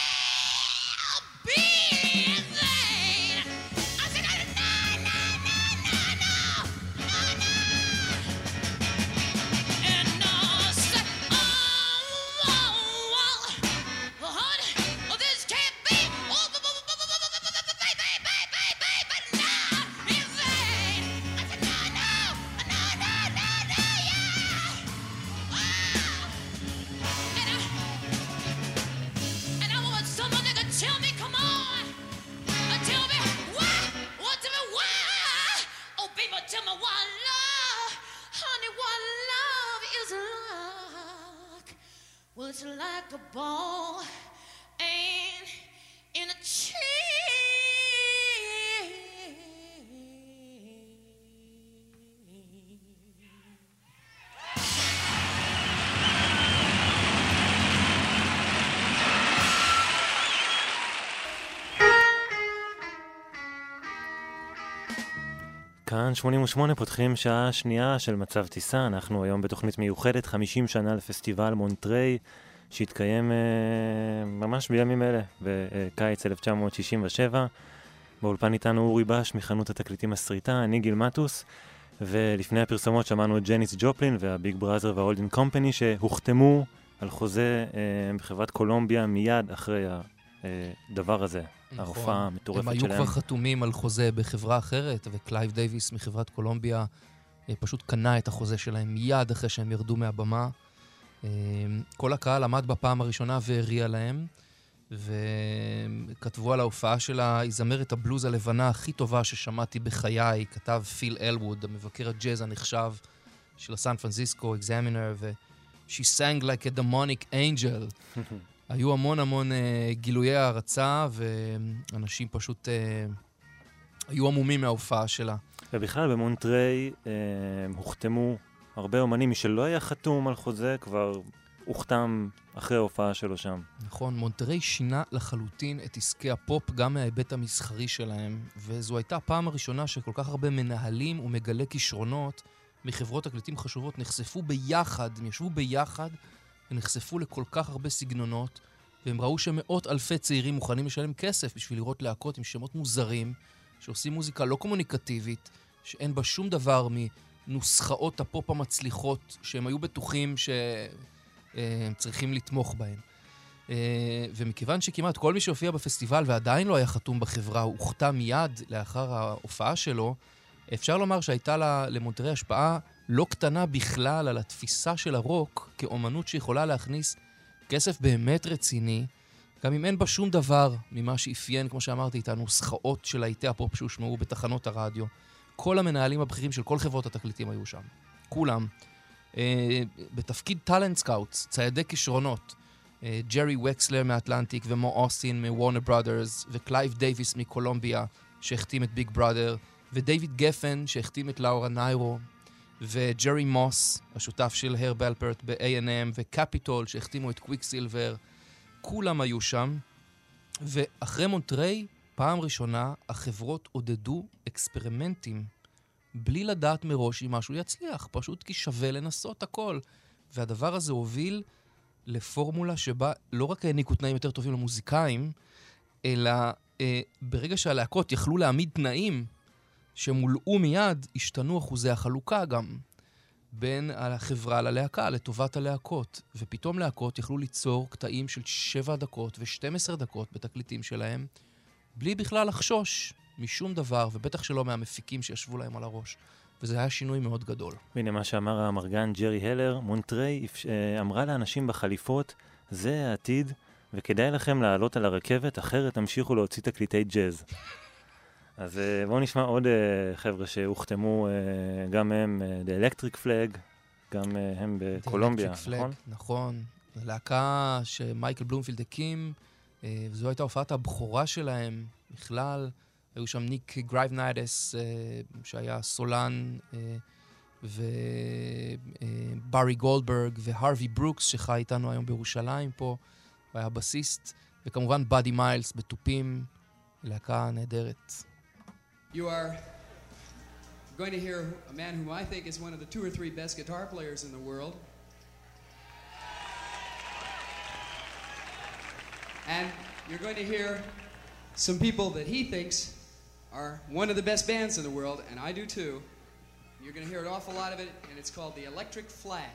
be. Tell me what love, honey, what love is like. Well, it's like a ball and in a chain. כאן שמונים ושמונה פותחים שעה שנייה של מצב טיסה. אנחנו היום בתוכנית מיוחדת חמישים שנה לפסטיבל מונטריי, שהתקיים אה, ממש בימים אלה, בקיץ אלף תשע מאות שישים ושבע. באולפן איתנו אורי בש מחנות התקליטים הסריטה, אני גיל מטוס, ולפני הפרסומות שמענו את ג'ניס ג'ופלין והביג בראזר וההולדן קומפני, שהוחתמו על חוזה אה, בחברת קולומביה מיד אחרי הדבר הזה. נכון. ההופעה המטורפת שלהם. הם היו כבר חתומים על חוזה בחברה אחרת, וקלייב דייביס מחברת קולומביה פשוט קנה את החוזה שלהם מיד אחרי שהם ירדו מהבמה. כל הקהל עמד בפעם הראשונה והריע להם, וכתבו על ההופעה שלה, היא זמרת הבלוז הלבנה הכי טובה ששמעתי בחיי, כתב פיל אלווד, המבקר הג'אז הנחשב של הסן פרנסיסקו אקזמינר, ו- She sang like a demonic angel. היו המון המון uh, גילויי הערצה, ואנשים פשוט uh, היו עמומים מההופעה שלה. ובכלל במונטריי uh, הוחתמו הרבה אומנים, מי שלא היה חתום על חוזה כבר הוחתם אחרי ההופעה שלו שם. נכון, מונטריי שינה לחלוטין את עסקי הפופ גם מההיבט המסחרי שלהם, וזו הייתה הפעם הראשונה שכל כך הרבה מנהלים ומגלי כישרונות מחברות תקליטים חשובות נחשפו ביחד, הם ישבו ביחד ונחשפו לכל כך הרבה סגנונות, והם ראו שמאות אלפי צעירים מוכנים לשלם כסף בשביל לראות להקות עם שמות מוזרים, שעושים מוזיקה לא קומוניקטיבית, שאין בה שום דבר מנוסחאות הפופ המצליחות, שהם היו בטוחים שהם צריכים לתמוך בהן. ומכיוון שכמעט כל מי שהופיע בפסטיבל ועדיין לא היה חתום בחברה, הוא הוחתם מיד לאחר ההופעה שלו, אפשר לומר שהייתה למונטריי השפעה לא קטנה בכלל על התפיסה של הרוק כאומנות שיכולה להכניס כסף באמת רציני, גם אם אין בה שום דבר ממה שאפיין, כמו שאמרתי, את הנוסחאות של להיטי הפופ שהושמעו בתחנות הרדיו. כל המנהלים הבכירים של כל חברות התקליטים היו שם. כולם. אה, בתפקיד טלנט סקאוטס, ציידי כישרונות, אה, ג'רי וקסלר מאטלנטיק ומו אוסטין מוורנר ברודרס, וקלייב דייביס מקולומביה שהחתים את ביג בראדר, ודייוויד גפן שהחתים את לאורה ניירו, וג'רי מוס, השותף של הר בלפרט ב-איי אנד אם, וקפיטול שהחתימו את קוויקסילבר, כולם היו שם. ואחרי מונטריי, פעם ראשונה, החברות עודדו אקספרימנטים, בלי לדעת מראש אם משהו יצליח, פשוט כי שווה לנסות הכל. והדבר הזה הוביל לפורמולה שבה לא רק העניקו תנאים יותר טובים למוזיקאים, אלא אה, ברגע שהלהקות יכלו להעמיד תנאים, שמולאו מיד, השתנו אחוזי החלוקה גם בין החברה ללהקה, לטובת הלהקות. ופתאום להקות יכלו ליצור קטעים של שבע דקות ו-שתים עשרה דקות בתקליטים שלהם, בלי בכלל לחשוש משום דבר, ובטח שלא מהמפיקים שישבו להם על הראש. וזה היה שינוי מאוד גדול. והנה מה שאמר המרגן ג'רי הלר, מונטריי אמרה לאנשים בחליפות, זה העתיד, וכדאי לכם לעלות על הרכבת, אחרת תמשיכו להוציא תקליטי ג'אז. אז בואו נשמע עוד חבר'ה שהוחתמו, גם הם The Electric Flag, גם הם בקולומביה, נכון? נכון. להקה שמייקל בלומפילד הקים, וזו הייתה הופעת הבכורה שלהם בכלל. היו שם ניק גרייבניידס, שהיה סולן, וברי גולדברג, והרווי ברוקס, שחי איתנו היום בירושלים פה, והיה בסיסט, וכמובן באדי מיילס בתופים, להקה נהדרת. You are going to hear a man whom I think is one of the two or three best guitar players in the world. And you're going to hear some people that he thinks are one of the best bands in the world, and I do too. You're going to hear an awful lot of it, and it's called The Electric Flag.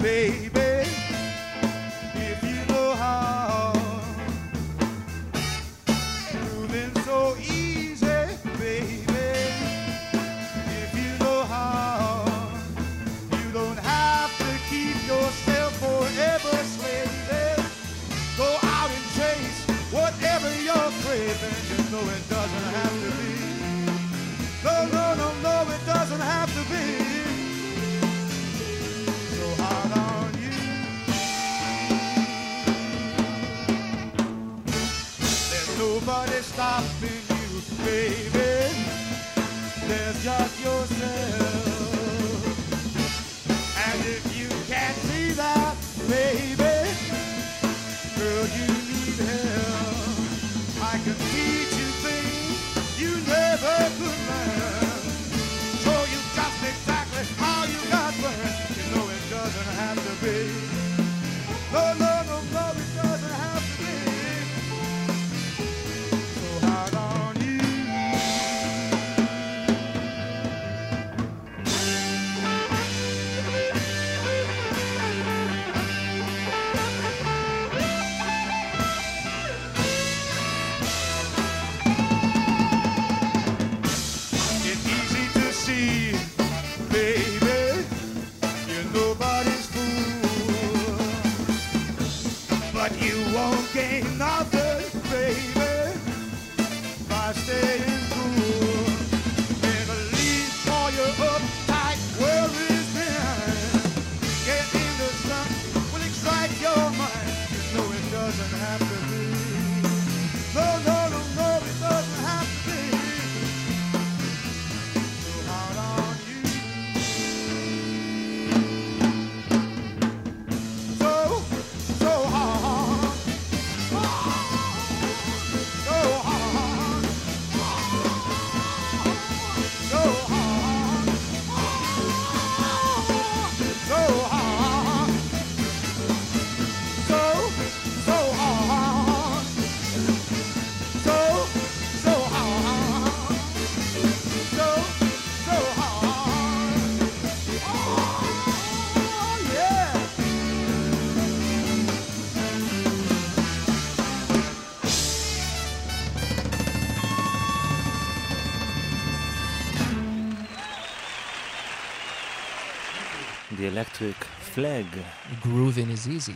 baby, if you know how. Moving so easy, baby, if you know how. You don't have to keep yourself forever slaving. Go out and chase whatever you're craving. You know it doesn't have to be. No, no, no, no, it doesn't have to be. So hard on you. There's nobody stopping you, baby. There's just yourself. And if you can't see that, baby, girl, you need help. I can teach you things you never could learn. Show you just exactly how you got burned. You know it doesn't have to be. No, no, no, no, it doesn't have to be. So hard on you. It's easy to see, baby, you're nobody's fool. But you won't gain nothing, baby, by staying cool. Never leave all your uptight worries behind. Get into something will excite your mind. You know it doesn't have to be. No, no, no, no, it doesn't have to be. So hard on you. So, so hard. So hard. So hard. So hard. So, so hard. So, so hard. So, so hard. Oh, yeah. The Electric Flag. Groovin is easy.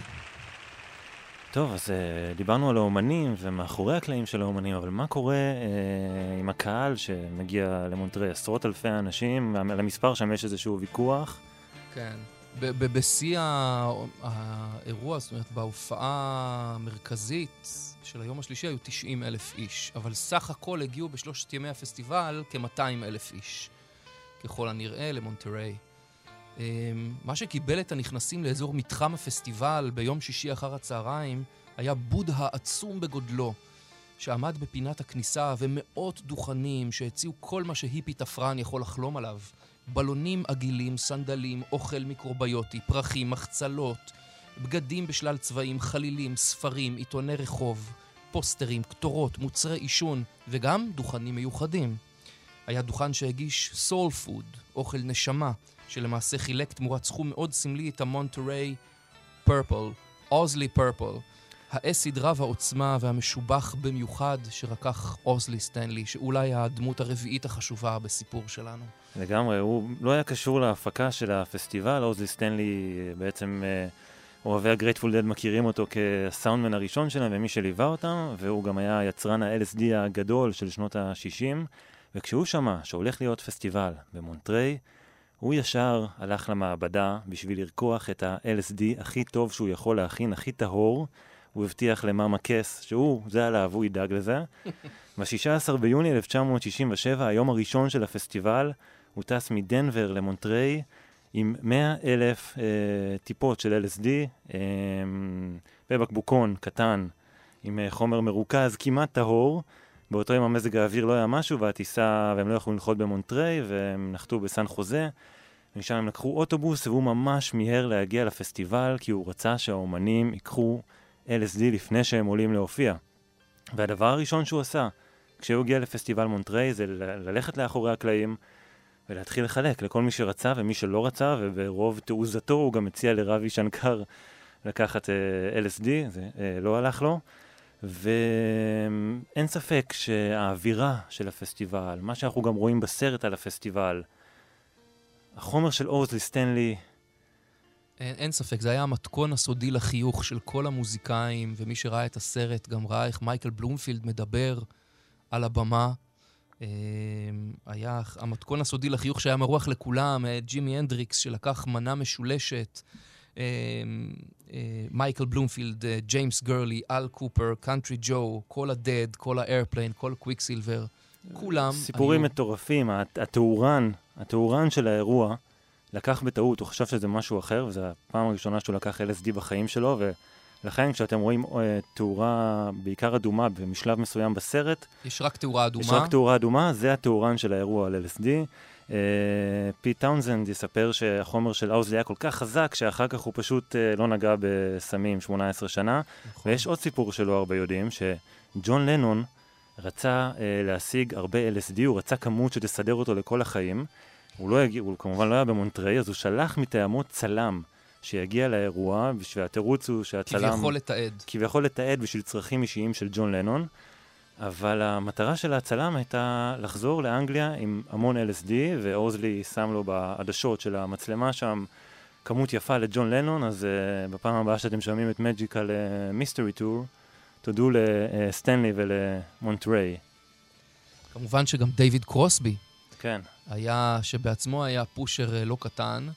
טוב, אז uh, דיברנו על האומנים ומאחורי הקלעים של האומנים, אבל מה קורה uh, עם הקהל שמגיע למונטריי? עשרות אלפי אנשים, על המספר שם יש איזשהו ויכוח. כן. ב- ב- בשיא ה- האירוע, זאת אומרת, בהופעה המרכזית של היום השלישי היו תשעים אלף איש, אבל סך הכל הגיעו בשלושת ימי הפסטיבל כ-מאתיים אלף איש, ככל הנראה למונטריי. Um, מה שקיבל את הנכנסים לאזור מתחם הפסטיבל ביום שישי אחר הצהריים היה בודהה עצום בגודלו, שעמד בפינת הכניסה ומאות דוכנים שהציעו כל מה שהיפי תפרן יכול לחלום עליו. בלונים עגילים, סנדלים, אוכל מיקרוביוטי, פרחים, מחצלות, בגדים בשלל צבעים, חלילים, ספרים, עיתוני רחוב, פוסטרים, כתורות, מוצרי עישון וגם דוכנים מיוחדים. היה דוכן שהגיש סול פוד, אוכל נשמה, שלמעשה חילק תמורת סכום מאוד סמלי את המונטריי פרפל, אוזלי פרפל, האסיד רב העוצמה והמשובח במיוחד שרקח אוזלי סטנלי, שאולי הדמות הרביעית החשובה בסיפור שלנו. לגמרי, הוא לא היה קשור להפקה של הפסטיבל, אוזלי סטנלי בעצם אוהבי הגרייטפול דד מכירים אותו כסאונדמן הראשון שלהם ומי שליווה אותם, והוא גם היה יצרן ה-אל אס די הגדול של שנות ה-שישים, וכשהוא שמע שהולך להיות פסטיבל במונטריי, הוא ישר הלך למעבדה בשביל לרקוח את ה-אל אס די הכי טוב שהוא יכול להכין, הכי טהור. הוא הבטיח למאמה קס שהוא, זה עליו, הוא ידאג לזה. ב-שישה עשר ביוני אלף תשע מאות שישים ושבע, היום הראשון של הפסטיבל, הוא טס מדנבר למונטריי עם מאה אלף אה, טיפות של אל אס די, אה, בבקבוקון קטן עם אה, חומר מרוכז כמעט טהור. באותו יום המזג האוויר לא היה משהו, והטיסה, והם לא יכלו לנחות במונטריי, והם נחתו בסן חוזה. ומשם הם לקחו אוטובוס, והוא ממש מיהר להגיע לפסטיבל, כי הוא רצה שהאומנים ייקחו אל אס די לפני שהם עולים להופיע. והדבר הראשון שהוא עשה, כשהוא הגיע לפסטיבל מונטריי, זה ל- ללכת לאחורי הקלעים, ולהתחיל לחלק לכל מי שרצה ומי שלא רצה, וברוב תעוזתו הוא גם הציע לרבי שנקר לקחת אל אס די, זה לא הלך לו. ואין ספק שהאווירה של הפסטיבל, מה שאנחנו גם רואים בסרט על הפסטיבל, החומר של אוזלי סטנלי... אין, אין ספק, זה היה המתכון הסודי לחיוך של כל המוזיקאים, ומי שראה את הסרט גם ראה איך מייקל בלומפילד מדבר על הבמה. היה המתכון הסודי לחיוך שהיה מרוח לכולם, ג'ימי הנדריקס שלקח מנה משולשת, מייקל בלומפילד, ג'יימס גרלי, אל קופר, קאנטרי ג'ו, כל הדד, כל האיירפליין, כל קוויקסילבר, כולם סיפורים היו... מטורפים. התאורן, התאורן של האירוע לקח בטעות, הוא חשב שזה משהו אחר, וזו הפעם הראשונה שהוא לקח אל אס די בחיים שלו, ולכן כשאתם רואים תאורה בעיקר אדומה במשלב מסוים בסרט, יש רק תאורה אדומה. יש רק תאורה אדומה, זה התאורן של האירוע על אל אס די. Uh, פיט טאונזנד יספר שהחומר של אוזלי היה כל כך חזק שאחר כך הוא פשוט uh, לא נגע בסמים שמונה עשרה שנה. נכון. ויש עוד סיפור שלא הרבה יודעים, שג'ון לנון רצה uh, להשיג הרבה אל אס די, הוא רצה כמות שתסדר אותו לכל החיים. הוא, לא יגיע, הוא כמובן לא היה במונטריי, אז הוא שלח מטעמו צלם שיגיע לאירוע, והתירוץ הוא שהצלם... כביכול לתעד. כביכול לתעד בשביל צרכים אישיים של ג'ון לנון. אבל המטרה של הצלם הייתה לחזור לאנגליה עם המון אל אס די, ואוזלי שם לו בעדשות של המצלמה שם כמות יפה לג'ון לנון, אז uh, בפעם הבאה שאתם שומעים את מג'יקל מיסטרי טור, תודו לסטנלי ולמונטריי. כמובן שגם דיוויד קרוסבי, כן. היה, שבעצמו היה פושר לא קטן,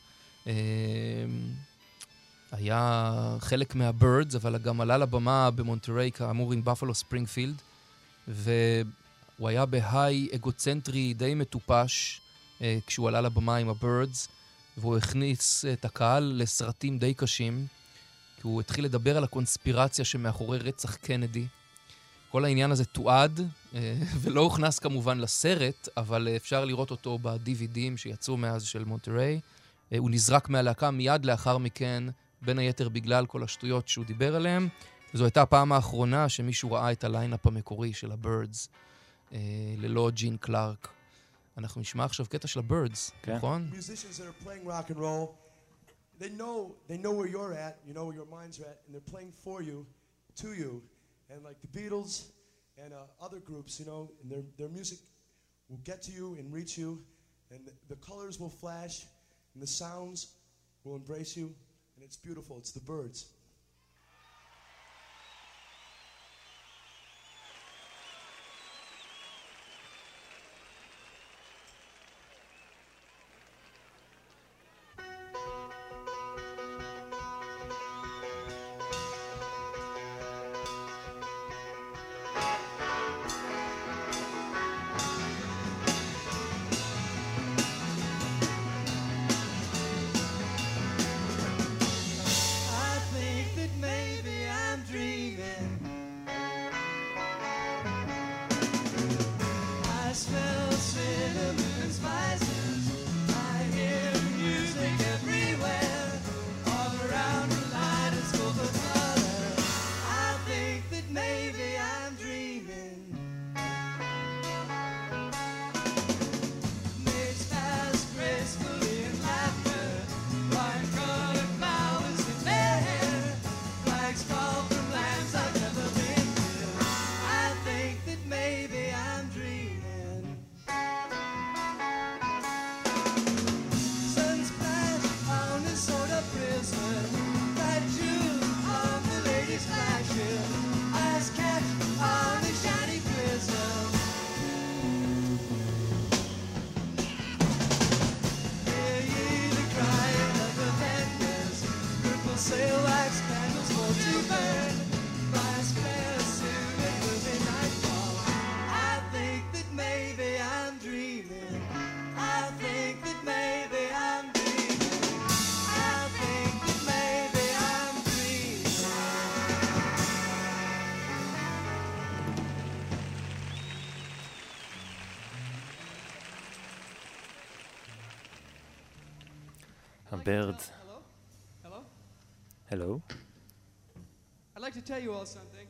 היה חלק מהבירדס, אבל גם עלה לבמה במונטריי, כאמור עם בפלו ספרינגפילד, והוא היה בהיי אגוצנטרי די מטופש אה, כשהוא עלה לבמה עם הבירדס, והוא הכניס את הקהל לסרטים די קשים, כי הוא התחיל לדבר על הקונספירציה שמאחורי רצח קנדי. כל העניין הזה תועד, אה, ולא הוכנס כמובן לסרט, אבל אפשר לראות אותו ב-די וי די'ים שיצאו מאז של מונטריי. אה, הוא נזרק מהלהקה מיד לאחר מכן, בין היתר בגלל כל השטויות שהוא דיבר עליהם. זו הייתה הפעם האחרונה שמישהו ראה את הליינאפ המקורי של הבירדס, אה, ללא ג'ין קלארק. אנחנו נשמע עכשיו קטע של הבירדס, כן. נכון? Musicians that are playing rock and roll, they know they know where you're at, you know where your minds are at, and they're playing for you, to you, and like the Beatles and uh, other groups, you know, and their their music will get to you and reach you, and the, the colors will flash, and the sounds will embrace you, and it's beautiful. It's the Byrds. Birds. Hello? Hello? Hello? I'd like to tell you all something.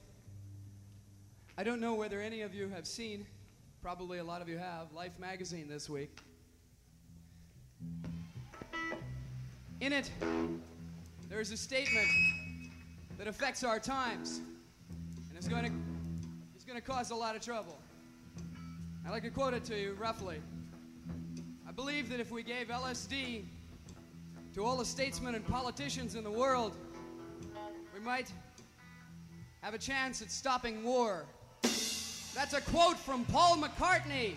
I don't know whether any of you have seen, probably a lot of you have, Life magazine this week. In it, there is a statement that affects our times and is going to is going to cause a lot of trouble. I'd like to quote it to you roughly. I believe that if we gave L S D to all the statesmen and politicians in the world, we might have a chance at stopping war. That's a quote from Paul McCartney.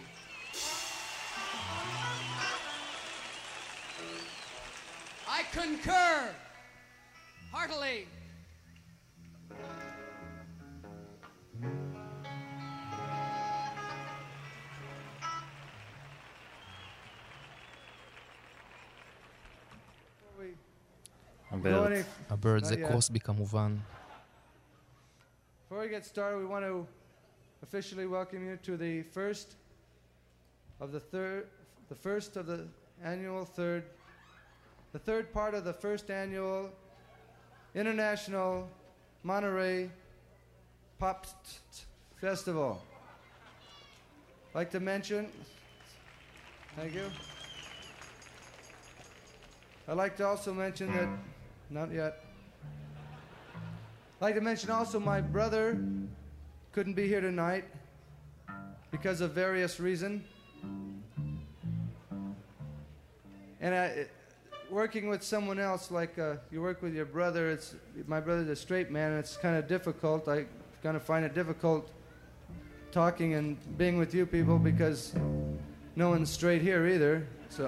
I concur heartily. הבירד. הבירד זה קרוסבי כמובן. Before we get started, we want to officially welcome you to the first of the third, the first of the annual third, the third part of the first annual International Monterey Pop Festival. I'd like to mention, thank you. I'd like to also mention that, not yet. I'd like to mention also my brother couldn't be here tonight because of various reasons. And I, working with someone else, like uh, you work with your brother, it's my brother's a straight man, and it's kind of difficult. I kind of find it difficult talking and being with you people because no one's straight here either. So.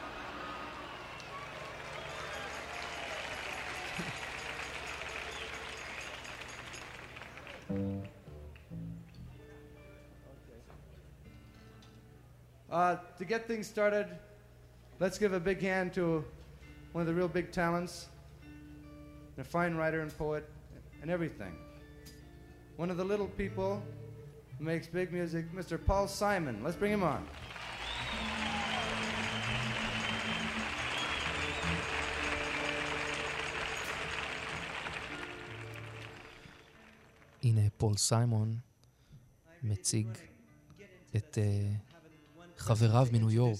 Uh, to get things started, let's give a big hand to one of the real big talents, a fine writer and poet and everything. One of the little people who makes big music, Mister Paul Simon. Let's bring him on. הנה פול סיימון מציג את uh, חבריו מניו יורק.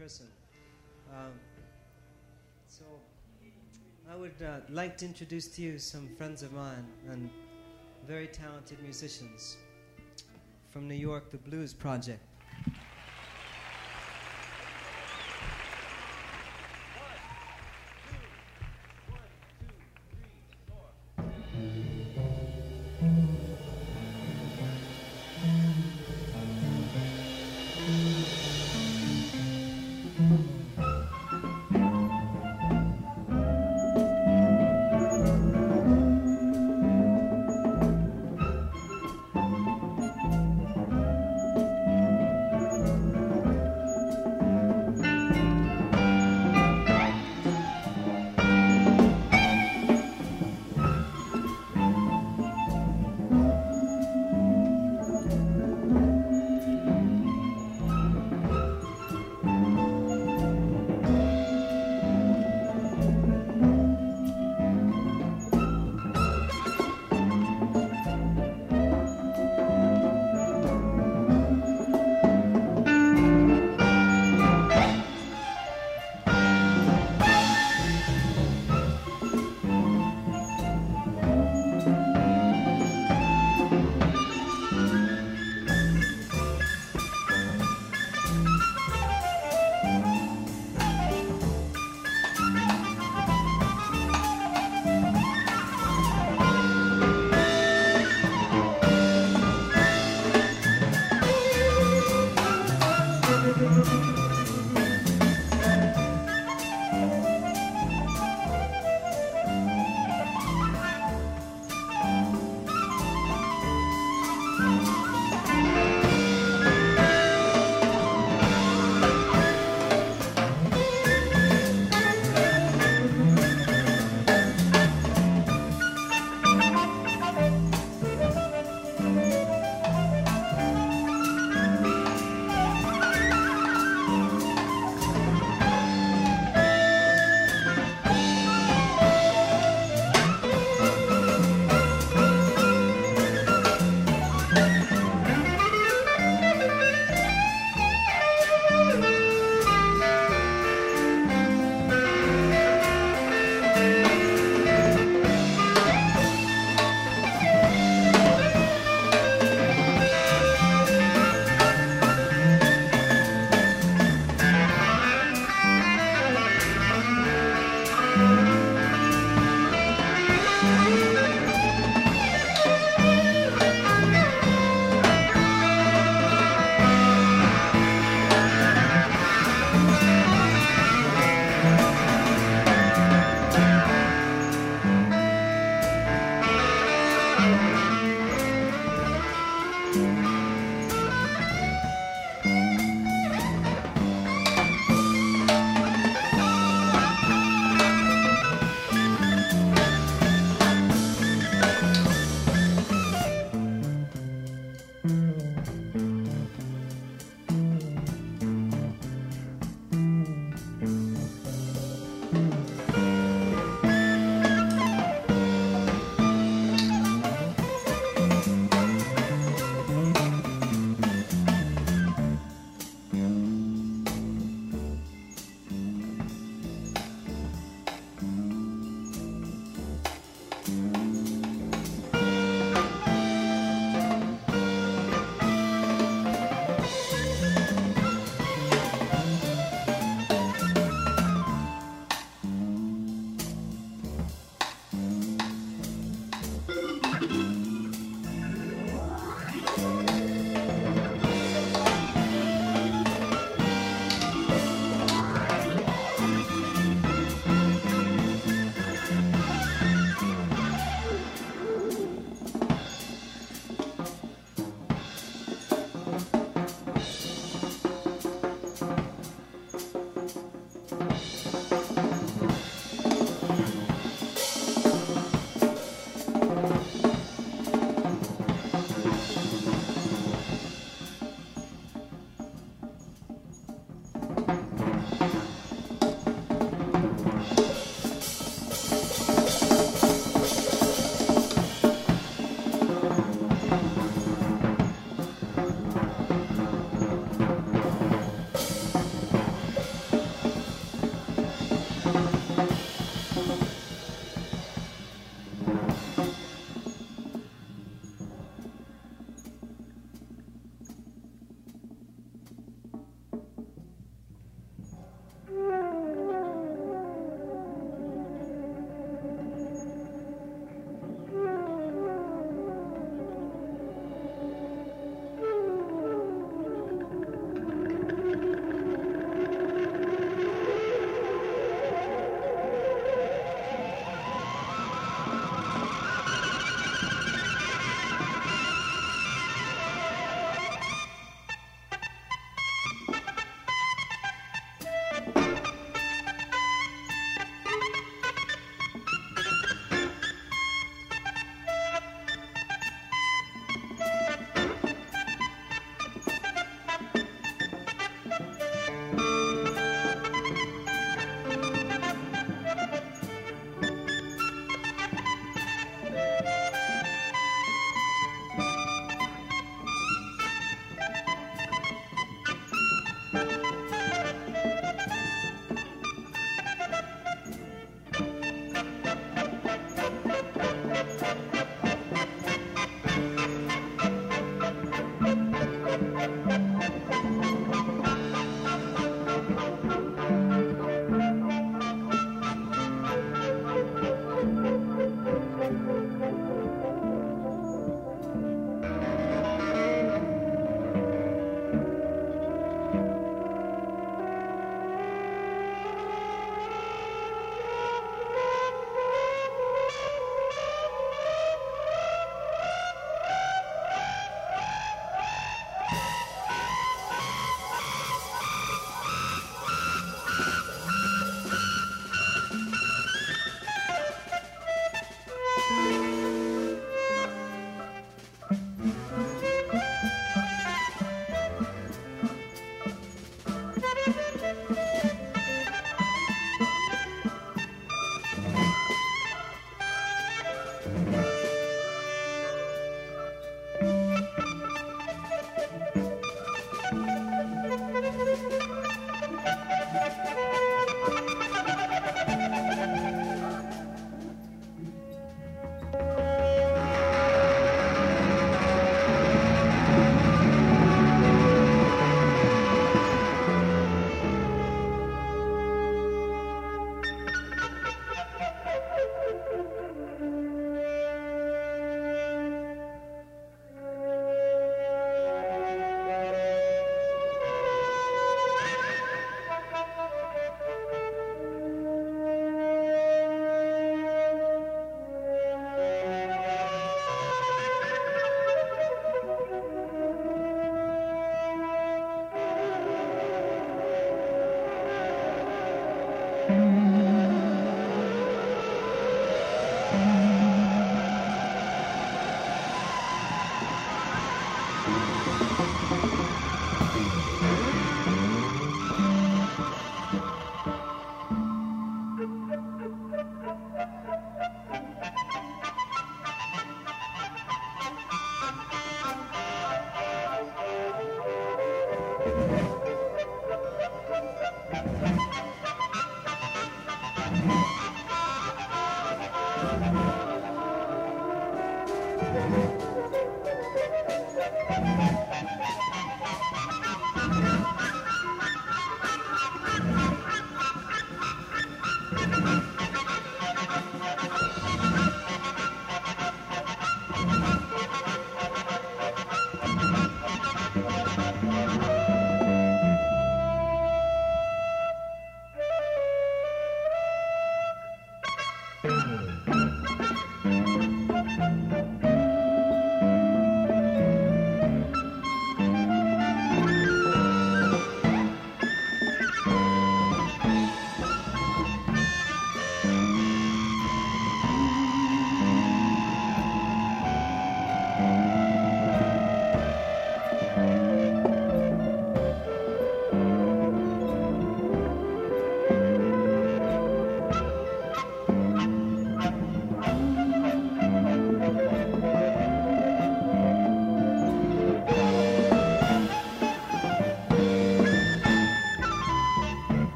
So I would uh, like to introduce to you some friends of mine and very talented musicians from New York, the Blues Project. Thank you.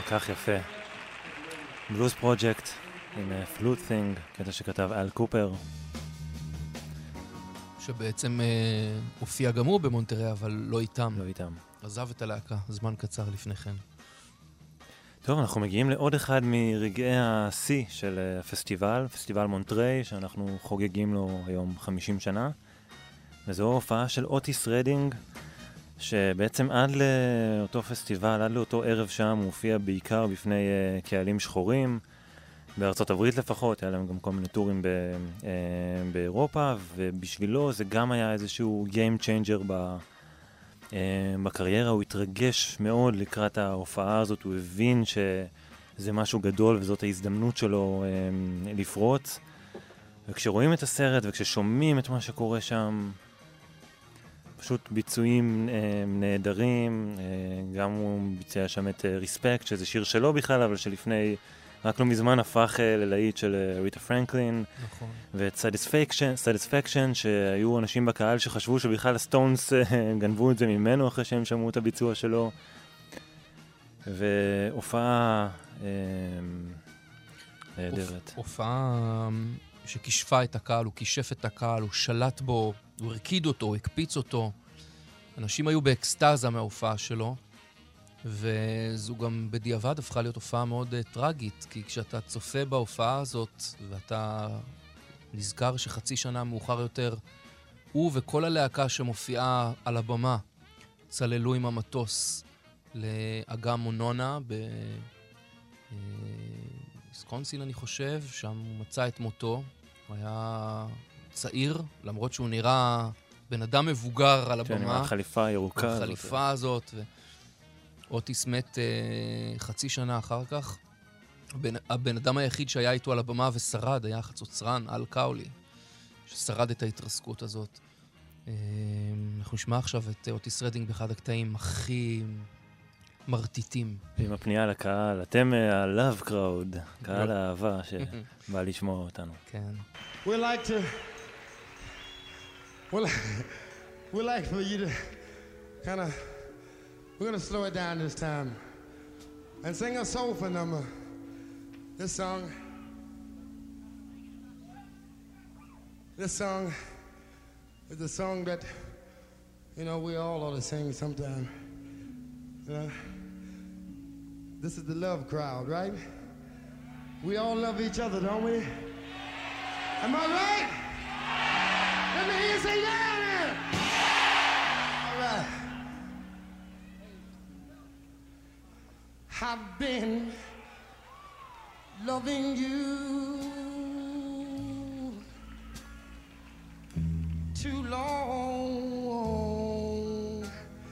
כך יפה. בלוז פרוג'קט עם פלוט תינג, קטע שכתב אל קופר. שבעצם אה, הופיע גם הוא במונטרי, אבל לא איתם. לא איתם. עזב את הלהקה, זמן קצר לפני כן. טוב, אנחנו מגיעים לעוד אחד מרגעי השיא של הפסטיבל, פסטיבל מונטרי, שאנחנו חוגגים לו היום חמישים שנה. וזו הופעה של אוטיס רדינג, שבעצם עד לאותו פסטיבל, עד לאותו ערב שם, הוא הופיע בעיקר בפני uh, קהלים שחורים, בארצות הברית לפחות, היה להם גם כל מיני טורים ב, uh, באירופה, ובשבילו זה גם היה איזשהו game changer ב, uh, בקריירה, הוא התרגש מאוד לקראת ההופעה הזאת, הוא הבין שזה משהו גדול וזאת ההזדמנות שלו uh, לפרוץ, וכשרואים את הסרט וכששומעים את מה שקורה שם, פשוט ביצועים אה, נהדרים, אה, גם הוא ביצע שם את אה, ריספקט, שזה שיר שלו בכלל, אבל שלפני, רק לא מזמן הפך אה, ללהיט של אה, ריטה פרנקלין. נכון. ואת סטיספקשן, סטיספקשן, שהיו אנשים בקהל שחשבו שבכלל הסטונס אה, גנבו את זה ממנו אחרי שהם שמעו את הביצוע שלו. והופעה אה, נהדרת. הופעה שכישפה את הקהל, הוא כישף את הקהל, הוא שלט בו, הוא הרקיד אותו, הוא הקפיץ אותו. אנשים היו באקסטאזה מההופעה שלו, וזו גם בדיעבד הפכה להיות הופעה מאוד uh, טרגית, כי כשאתה צופה בהופעה הזאת, ואתה נזכר שחצי שנה מאוחר יותר, הוא וכל הלהקה שמופיעה על הבמה, צללו עם המטוס לאגם מונונה, בוויסקונסין אני חושב, שם הוא מצא את מותו, הוא היה צעיר, למרות שהוא נראה בן אדם מבוגר על הבמה. כן, עם החליפה הירוקה. החליפה הזאת. ו... אוטיס מת uh, חצי שנה אחר כך. הבן, הבן אדם היחיד שהיה איתו על הבמה ושרד היה חצוצרן, אל קאולי, ששרד את ההתרסקות הזאת. Uh, אנחנו נשמע עכשיו את אוטיס רדינג באחד הקטעים הכי מרטיטים. עם הפנייה לקהל, אתם ה-love crowd, קהל האהבה שבא לשמוע אותנו. כן. We like to we like, we like for you to kind of we're going to slow it down this time and sing a soulful number. This song This song is a song that you know we all ought to sing sometime. You know? This is the love crowd, right? We all love each other, don't we? Am I right? Let me hear you say yeah, man. All right. I've been loving you too long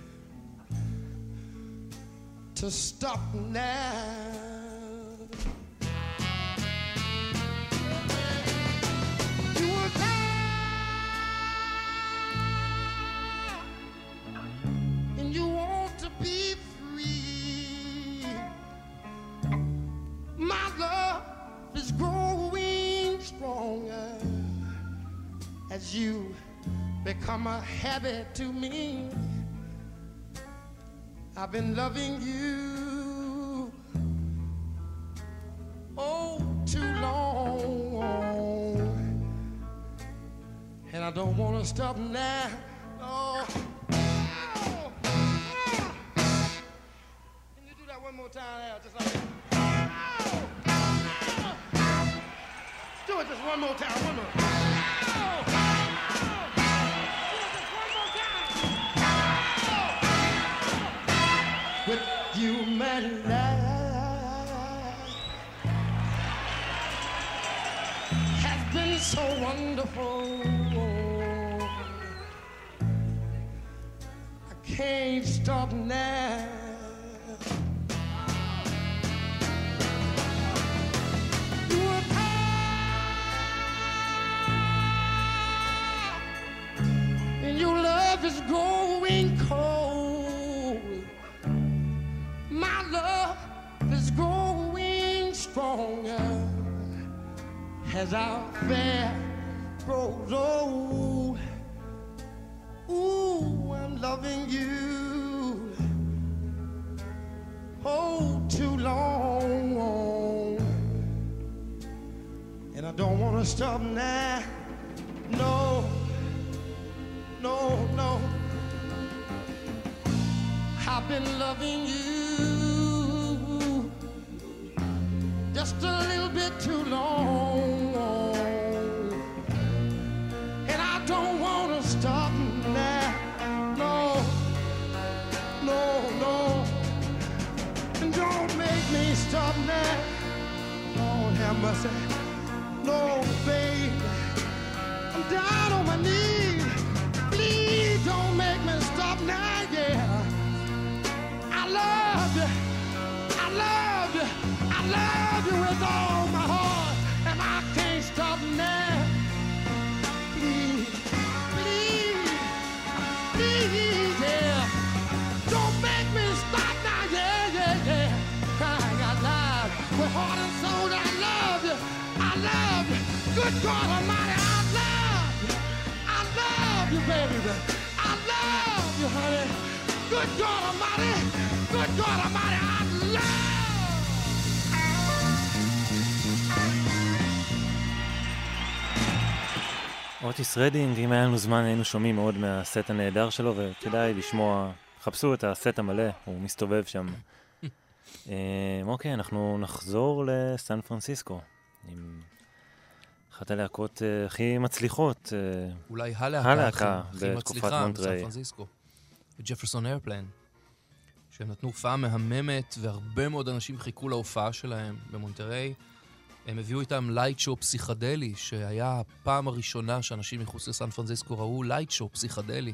to stop now. As you become a habit to me, I've been loving you oh too long, and I don't want to stop now. Oh. Can you do that one more time now, just like that? Do it just one more time, one more. With you, my life has been so wonderful. I can't stop now. You are kind, and your love is growing cold. My love is growing stronger as our affair grows old. Ooh, I'm loving you hold too long. And I don't want to stop now. No, no, no. I've been loving you just a little bit too long. And I don't want to stop now. No, no, no. And don't make me stop now. Lord have mercy. No, baby. I'm down on my knees. Please don't make me stop now, yeah. I love you. I love you. I love you with all my heart. And I can't stop now. Please, please, please, yeah. Don't make me stop now, yeah, yeah, yeah. Crying out loud with heart and soul. I love you. I love you. Good God Almighty, I love you. I love you, baby. I love you, honey. Good God Almighty. Good God Almighty, I love. אוטיס רדינג, אם היה לנו זמן היינו שומעים מאוד מהסט הנהדר שלו, וכדאי לשמוע, חפשו את הסט המלא, הוא מסתובב שם. אוקיי, אנחנו נחזור לסן פרנסיסקו, עם אחת הלהקות הכי מצליחות. אולי הלהקה הכי מצליחה בסן פרנסיסקו. ג'פרסון איירפליין, שהם נתנו הופעה מהממת, והרבה מאוד אנשים חיכו להופעה שלהם במונטריי. הם הביאו איתם לייט שואו פסיכדלי, שהיה הפעם הראשונה שאנשים מחוץ לסן פרנסיסקו ראו לייט שואו פסיכדלי.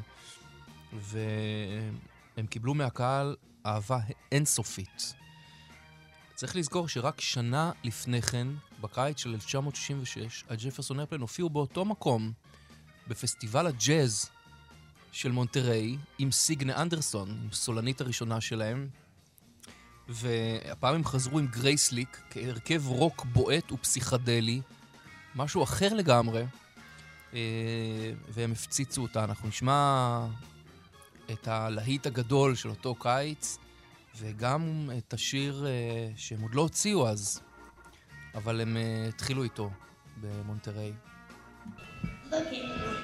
והם קיבלו מהקהל אהבה אינסופית. צריך לזכור שרק שנה לפני כן, בקיץ של אלף תשע מאות שישים ושש, הג'פרסון איירפליין הופיעו באותו מקום, בפסטיבל הג'אז של מונטריי, עם סיגנה אנדרסון, עם סולנית הראשונה שלהם, והפעם הם חזרו עם גרייסליק, כהרכב רוק בועט ופסיכדלי, משהו אחר לגמרי, והם הפציצו אותה. אנחנו נשמע את הלהיט הגדול של אותו קיץ, וגם את השיר שהם עוד לא הוציאו אז, אבל הם התחילו איתו במונטריי. Look at me.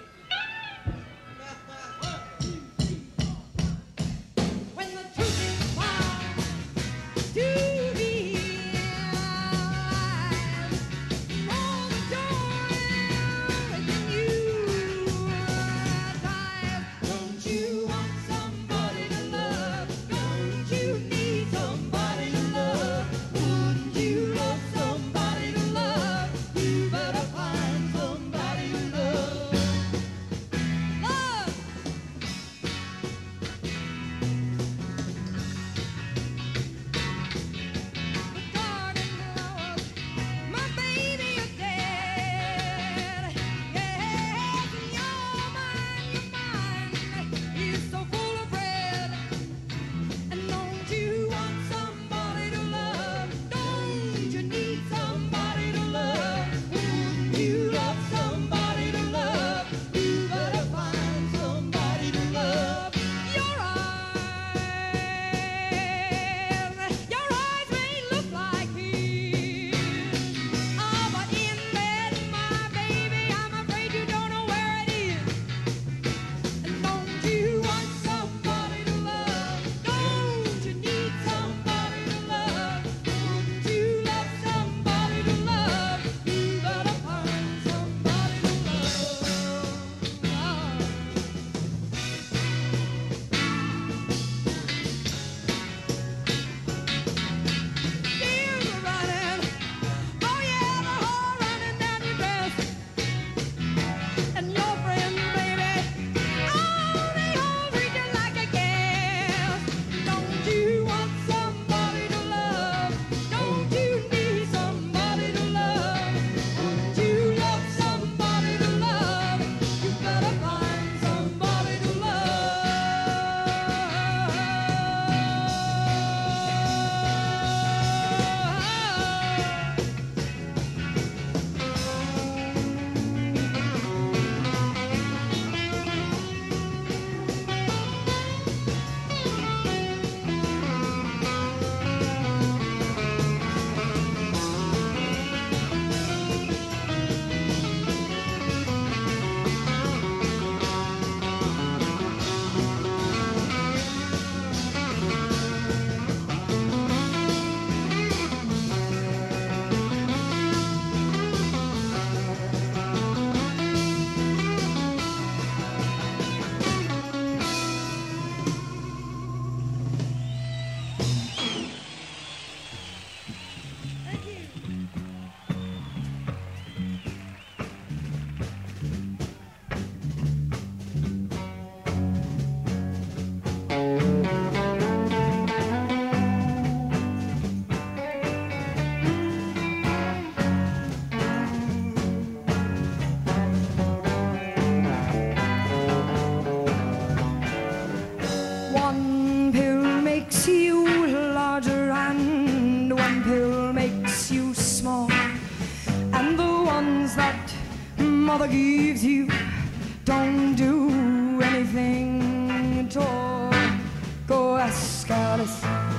forgives you. Don't do anything at all. Go ask Alice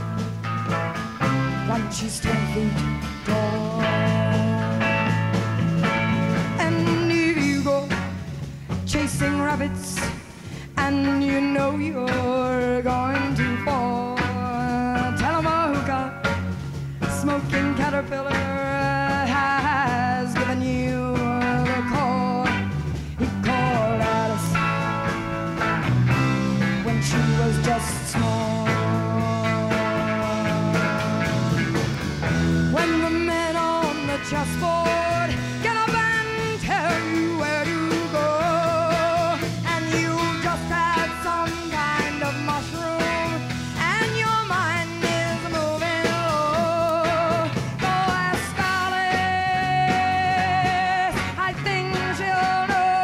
when she's ten feet tall. And if you go chasing rabbits and you know you're going to fall, tell 'em a hookah smoking caterpillar has given you the call. He called Alice when she was just small. When the men on the chessboard get up and tell you where to go, and you just had some kind of mushroom and your mind is moving low, go ask Alice, I think she'll know.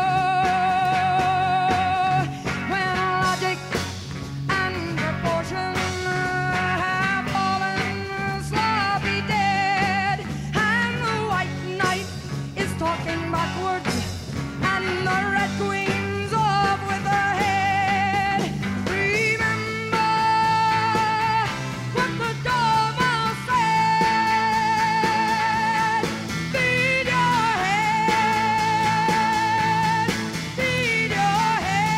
When logic and proportion have fallen sloppy dead, and the white knight is talking backwards, and the red queen's off with her head, remember what the Dormouse said. Feed your head, feed your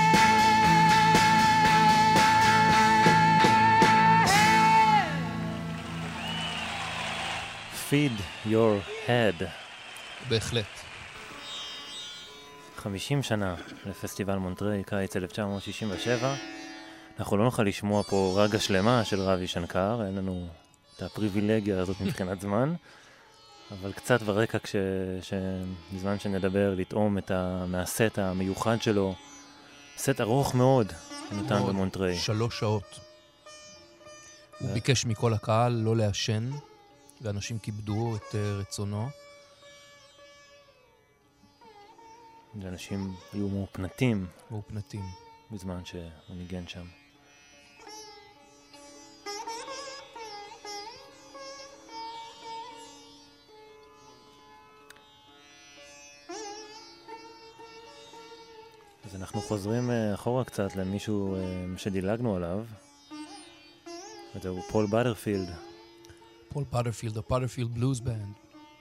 Feed your head. בהחלט. חמישים שנה לפסטיבל מונטריי, קיץ אלף תשע מאות שישים ושבע. אנחנו לא נוכל לשמוע פה רגע שלמה של רבי שנקר, אין לנו את הפריבילגיה הזאת מבחינת זמן, אבל קצת ברקע כש... בזמן שנדבר, לטעום את ה... מהסט המיוחד שלו, סט ארוך מאוד, שניתן במונטריי. שלוש שעות. הוא ביקש מכל הקהל לא לעשן, ואנשים כיבדו את uh, רצונו. ואנשים היו מאופנתים. מאופנתים. בזמן שהוא ניגן שם. אז אנחנו חוזרים uh, אחורה קצת למישהו uh, שדילגנו עליו. וזהו פול בטרפילד. פול בטרפילד, הפטרפילד בלוז בנד,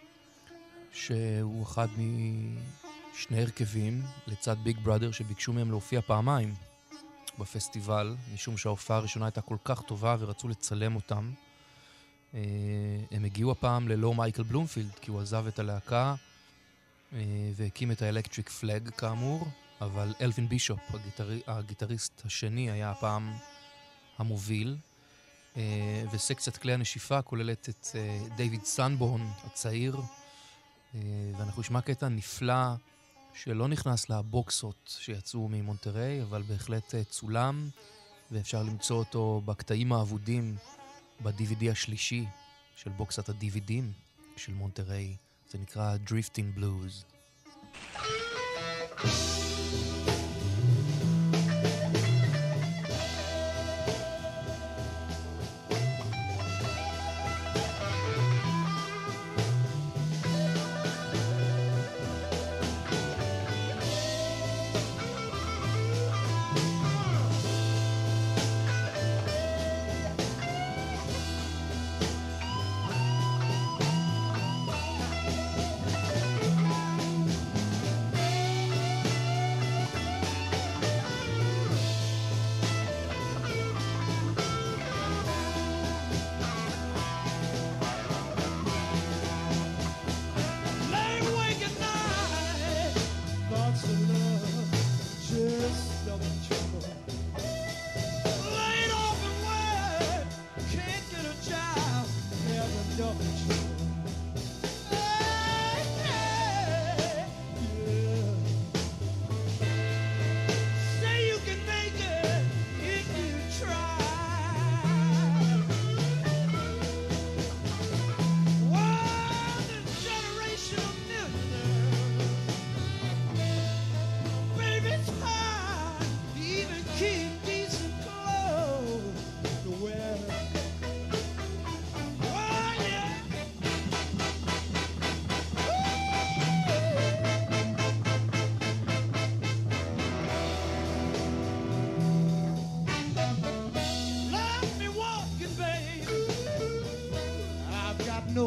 שהוא אחד משני הרכבים לצד ביג בראדר שביקשו מהם להופיע פעמיים בפסטיבל, משום שההופעה הראשונה הייתה כל כך טובה ורצו לצלם אותם. הם הגיעו הפעם ללא מייקל בלומפילד, כי הוא עזב את הלהקה והקים את האלקטריק פלאג כאמור, אבל אלווין בישופ, הגיטר... הגיטריסט השני, היה הפעם המוביל. Uh, וסקציית כלי הנשיפה כוללת את uh, דיוויד סנבורן הצעיר, uh, ואנחנו נשמע קטע נפלא שלא נכנס לבוקסות שיצאו ממונטריי, אבל בהחלט uh, צולם, ואפשר למצוא אותו בקטעים האבודים ב-די וי די השלישי של בוקסת ה-די וי די של מונטריי. זה נקרא Drifting Blues.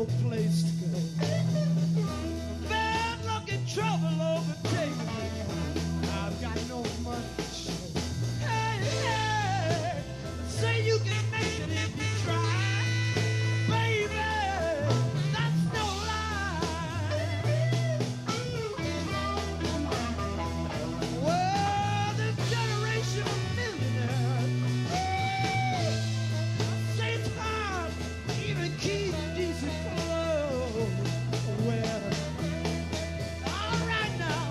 no place to go. Bad luck and trouble overtaking me. I've got no money to show. Hey, hey, say you can make it if you try. Baby, that's no lie. Well, this generation of millionaires, say it's hard to even keep decent clothes. Well, all right now.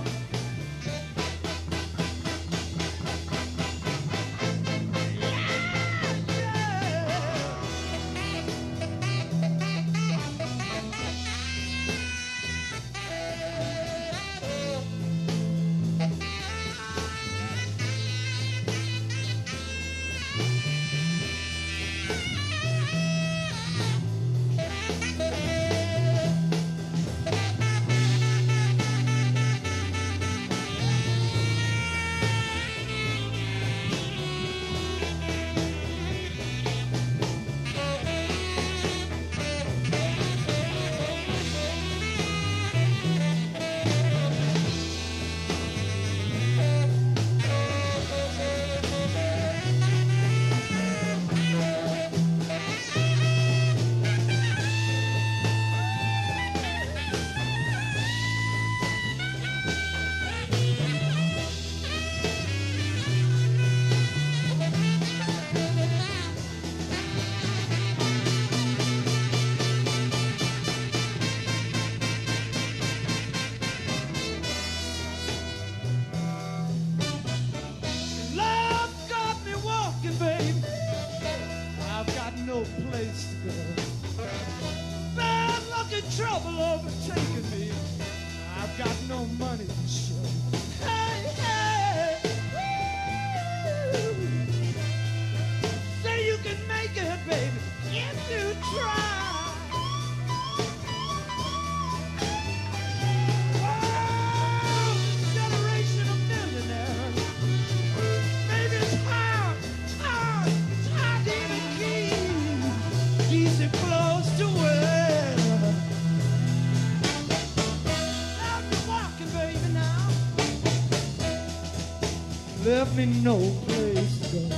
Love got me walking, babe. I've got no place to go. Bad luck and trouble overtaking me. I've got no money to show. Hey, hey, woo. Say you can make it, baby, if you try. Oh, generation of millionaires. Maybe it's hard, it's hard, it's hard to even keep decent clothes to wear. I've been walking, baby, now. Left me no place to go.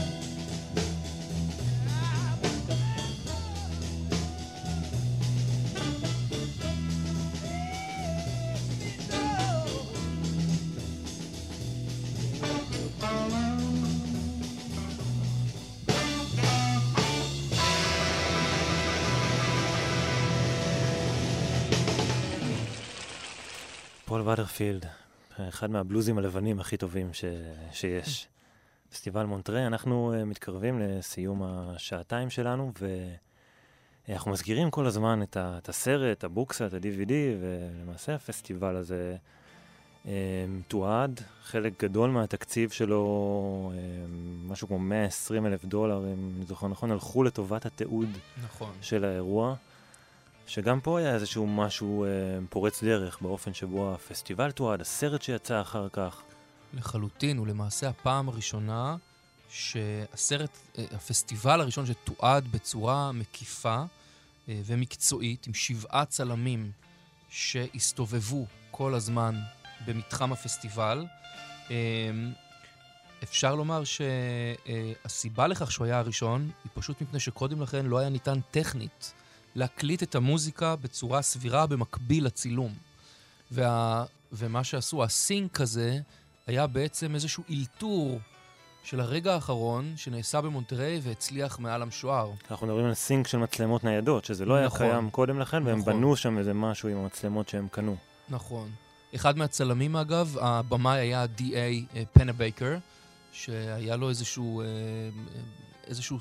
פול ודרפילד, אחד מהבלוזים הלבנים הכי טובים ש... שיש. פסטיבל מונטריי, אנחנו uh, מתקרבים לסיום השעתיים שלנו, ואנחנו מזכירים כל הזמן את, ה... את הסרט, הבוקסה, את ה-די וי די, ולמעשה הפסטיבל הזה um, תועד, חלק גדול מהתקציב שלו, um, משהו כמו מאה ועשרים אלף דולר, אם אני זוכר נכון, הלכו לטובת התיעוד נכון. של האירוע. שגם פה היה איזשהו משהו אה, פורץ דרך באופן שבו הפסטיבל תועד, הסרט שיצא אחר כך. לחלוטין, ולמעשה הפעם הראשונה שהסרט, אה, הפסטיבל הראשון שתועד בצורה מקיפה אה, ומקצועית, עם שבעה צלמים שהסתובבו כל הזמן במתחם הפסטיבל. אה, אפשר לומר שהסיבה לכך שהוא היה הראשון, היא פשוט מפני שקודם לכן לא היה ניתן טכנית להקליט את המוזיקה בצורה סבירה במקביל לצילום. וה... ומה שעשו, הסינק הזה, היה בעצם איזשהו אילתור של הרגע האחרון שנעשה במונטריי והצליח מעל המשוער. אנחנו מדברים על סינק של מצלמות ניידות, שזה לא נכון, היה קיים קודם לכן, והם נכון. בנו שם איזה משהו עם המצלמות שהם קנו. נכון. אחד מהצלמים, אגב, הבמאי היה די איי פנבייקר, שהיה לו איזשהו, איזשהו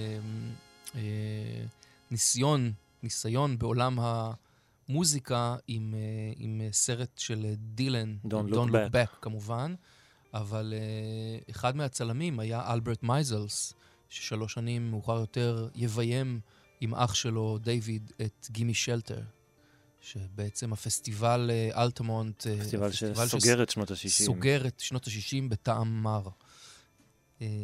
ניסיון, ניסיון בעולם המוזיקה עם, עם סרט של דילן, Don't Don't Look Look Back. Back כמובן, אבל אחד מהצלמים היה אלברט מייזלס, ששלוש שנים מאוחר יותר יביים עם אח שלו דיוויד את גימי שלטר. שבעצם הפסטיבל אלטמונט, פסטיבל שסוגר את שנות ה-שישים. סוגר את שנות ה-שישים בטעם מר.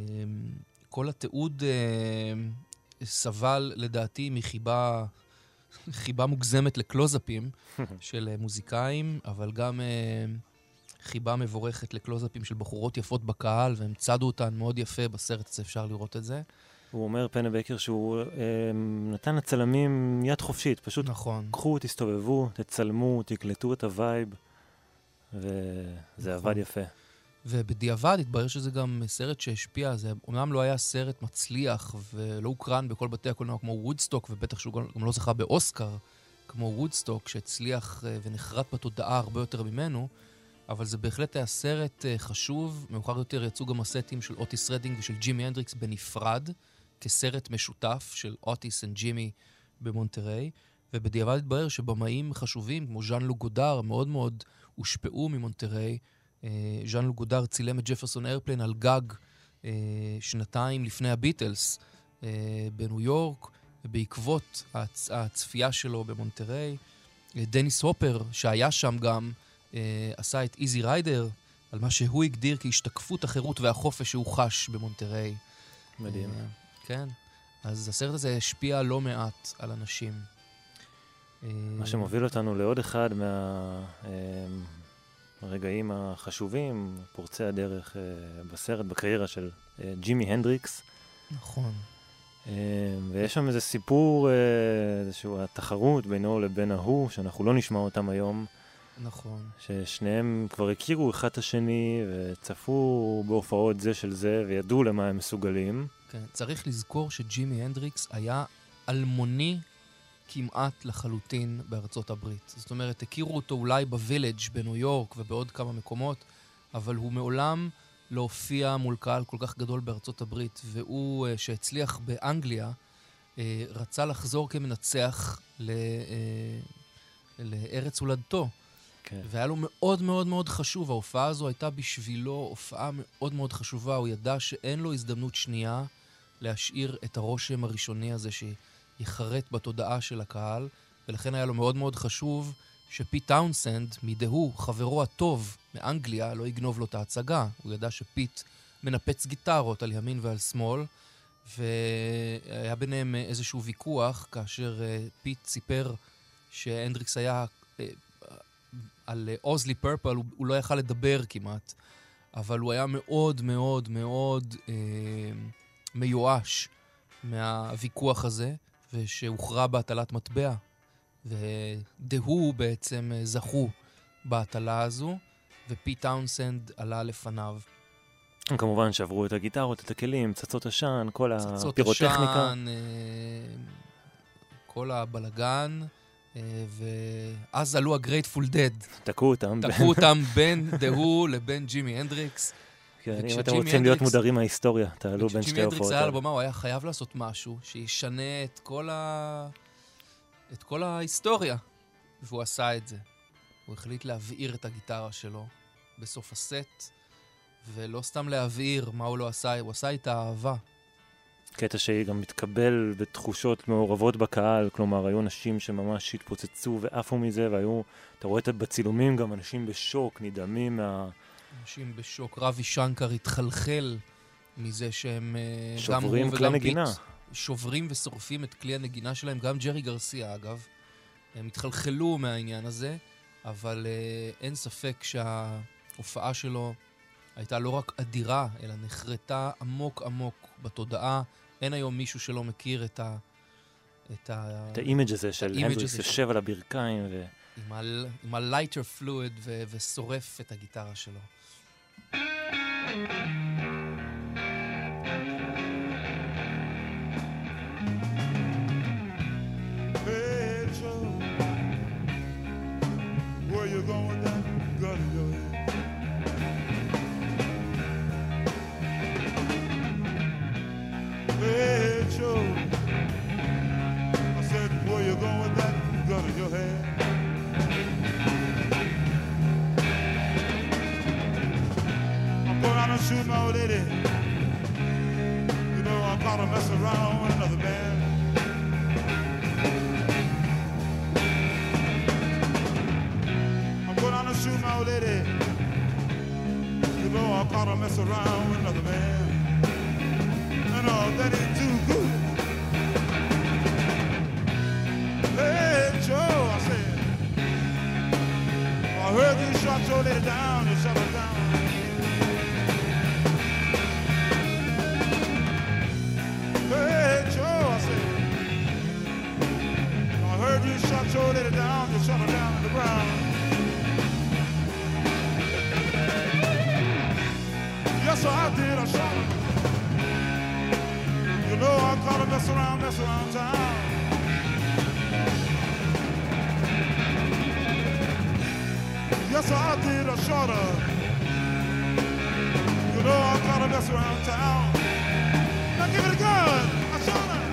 כל התיעוד סבל לדעתי מחיבה חיבה מוגזמת לקלוזאפים של מוזיקאים, אבל גם חיבה מבורכת לקלוזאפים של בחורות יפות בקהל, והם צדו אותן מאוד יפה בסרט הזה, אפשר לראות את זה. הוא אומר, פנבקר, שהוא אה, נתן לצלמים יד חופשית, פשוט נכון. קחו, תסתובבו, תצלמו, תקלטו את הווייב, וזה נכון. עבד יפה. ובדיעבד התברר שזה גם סרט שהשפיע, זה אומנם לא היה סרט מצליח, ולא הוקרן בכל בתי הקולנוע כמו וודסטוק, ובטח שהוא גם לא זכה באוסקר, כמו וודסטוק, שהצליח ונחרט בתודעה הרבה יותר ממנו, אבל זה בהחלט היה סרט חשוב. מאוחר יותר יצאו גם הסטים של אוטיס רדינג ושל ג'ימי הנדריקס בנפרד, כסרט משותף של אוטיס וג'ימי במונטריי, ובדיעבד התברר שבמאים חשובים, כמו ז'אן לוק גודר, מאוד מאוד הושפעו ממונטריי. ז'אן לוק גודר צילם את ג'פרסון איירפליין על גג שנתיים לפני הביטלס בניו יורק, ובעקבות הצ... הצפייה שלו במונטריי, דניס הופר, שהיה שם גם, עשה את איזי ריידר, על מה שהוא הגדיר כהשתקפות החירות והחופש שהוא חש במונטריי. מדהים. כן. אז הסרט הזה השפיע לא מעט על אנשים. מה שמוביל אותנו לעוד אחד מהרגעים החשובים, פורצי הדרך בסרט, בקריירה של ג'ימי הנדריקס. נכון. ויש שם איזה סיפור, איזשהו התחרות בינו לבין ההוא, שאנחנו לא נשמע אותם היום. נכון. ששניהם כבר הכירו אחד את השני, וצפו בהופעות זה של זה, וידעו למה הם מסוגלים. כן, צריך לזכור שג'ימי הנדריקס היה אלמוני כמעט לחלוטין בארצות הברית. זאת אומרת, הכירו אותו אולי בווילג' בניו יורק ובעוד כמה מקומות, אבל הוא מעולם לא הופיע מול קהל כל כך גדול בארצות הברית, והוא, שהצליח באנגליה, רצה לחזור כמנצח ל... לארץ הולדתו. כן. והיה לו מאוד מאוד מאוד חשוב. ההופעה הזו הייתה בשבילו הופעה מאוד מאוד חשובה. הוא ידע שאין לו הזדמנות שנייה להשאיר את הרושם הראשוני הזה שיחרט בתודעה של הקהל, ולכן היה לו מאוד מאוד חשוב שפיט טאונסנד, מדהו, חברו הטוב מאנגליה, לא יגנוב לו את ההצגה. הוא ידע שפיט מנפץ גיטרות על ימין ועל שמאל, והיה ביניהם איזשהו ויכוח, כאשר פיט סיפר שהנדריקס היה על אוזלי פרפל, הוא, הוא לא יכל לדבר כמעט, אבל הוא היה מאוד מאוד מאוד אה, מיואש מהוויכוח הזה, ושהוכרע בהטלת מטבע. ודהו בעצם זכו בהטלה הזו, ופיט טאונסנד עלה לפניו. כמובן שעברו את הגיטרות, את הכלים, צצות עשן, כל צצות הפירוטכניקה. עשן, אה, כל הבלגן, ואז עלו הגרייטפול דד. תקעו אותם. תקעו אותם בין דהו לבין ג'ימי הנדריקס. כן, אם אתם רוצים להיות מודרים מההיסטוריה, תעלו בין שתי ג'ימי הנדריקס הופעות. היה על הבמה, הוא היה חייב לעשות משהו שישנה את כל ה... את כל ההיסטוריה. והוא עשה את זה. הוא החליט להבעיר את הגיטרה שלו בסוף הסט, ולא סתם להבעיר מה הוא לא עשה, הוא עשה את האהבה. קטע שהיא גם מתקבל בתחושות מעורבות בקהל, כלומר, היו אנשים שממש התפוצצו ועפו מזה, והיו, אתה רואה את בצילומים גם אנשים בשוק, נדהמים מה... אנשים בשוק, רבי שנקר התחלחל מזה שהם שוברים כלי נגינה. שוברים ושורפים את כלי הנגינה שלהם, גם ג'רי גרסיה אגב, הם התחלחלו מהעניין הזה, אבל uh, אין ספק שההופעה שלו הייתה לא רק אדירה, אלא נחרטה עמוק עמוק בתודעה. אין היום מישהו שלא מכיר את ה... את ה... את האימג' הזה של הנדריקס יושב על הברכיים ו... עם, ה... עם הלייטר פלואיד ו... ושורף את הגיטרה שלו. Hey, Joe, where you going with that gun in your head? Hey, Joe, I said, where you going with that gun in your head? I'm going out and shoot my old lady. You know, I'm about to mess around with another man. I'm going out and shoot my old lady. You know, I'm about to mess around with another man. And all that ain't too good. Hey, I heard you shot your lady down, you shut her down. Hey, Joe, I said, I heard you shot your lady down, you shut her down on the ground. Yes, sir, I did, I shot her. You know I caught her mess around, mess around town. Yes, sir, I did, I shot her. You know I caught her mess around town. Now give it a gun, I shot her.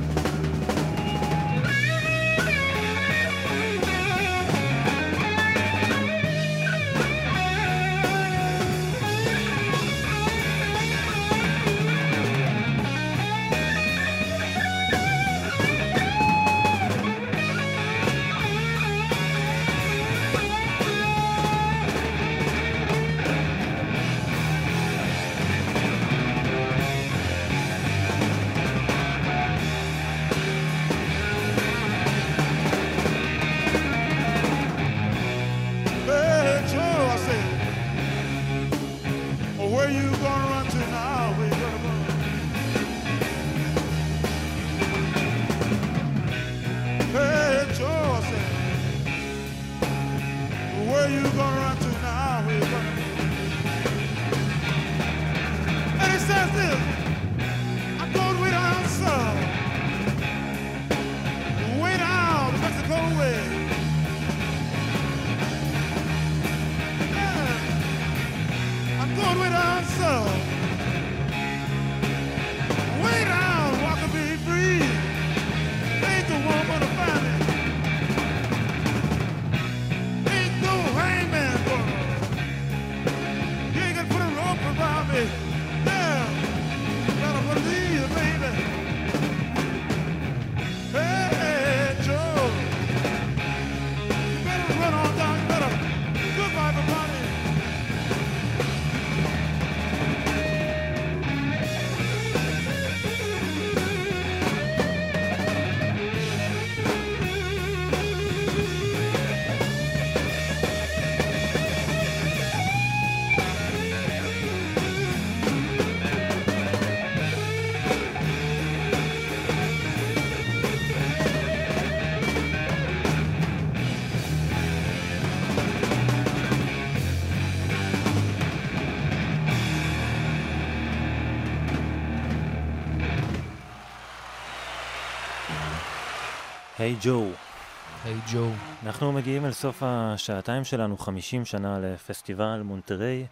היי ג'ו. היי ג'ו. אנחנו מגיעים אל סוף השעתיים שלנו, חמישים שנה לפסטיבל מונטריי,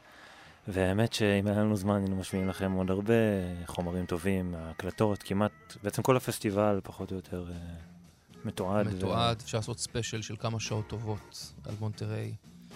והאמת שאם היה לנו זמן היינו משמיעים לכם עוד הרבה חומרים טובים, הקלטות, כמעט, בעצם כל הפסטיבל פחות או יותר אה, מתועד. מתועד, ו... אפשר לעשות ספיישל של כמה שעות טובות על מונטריי.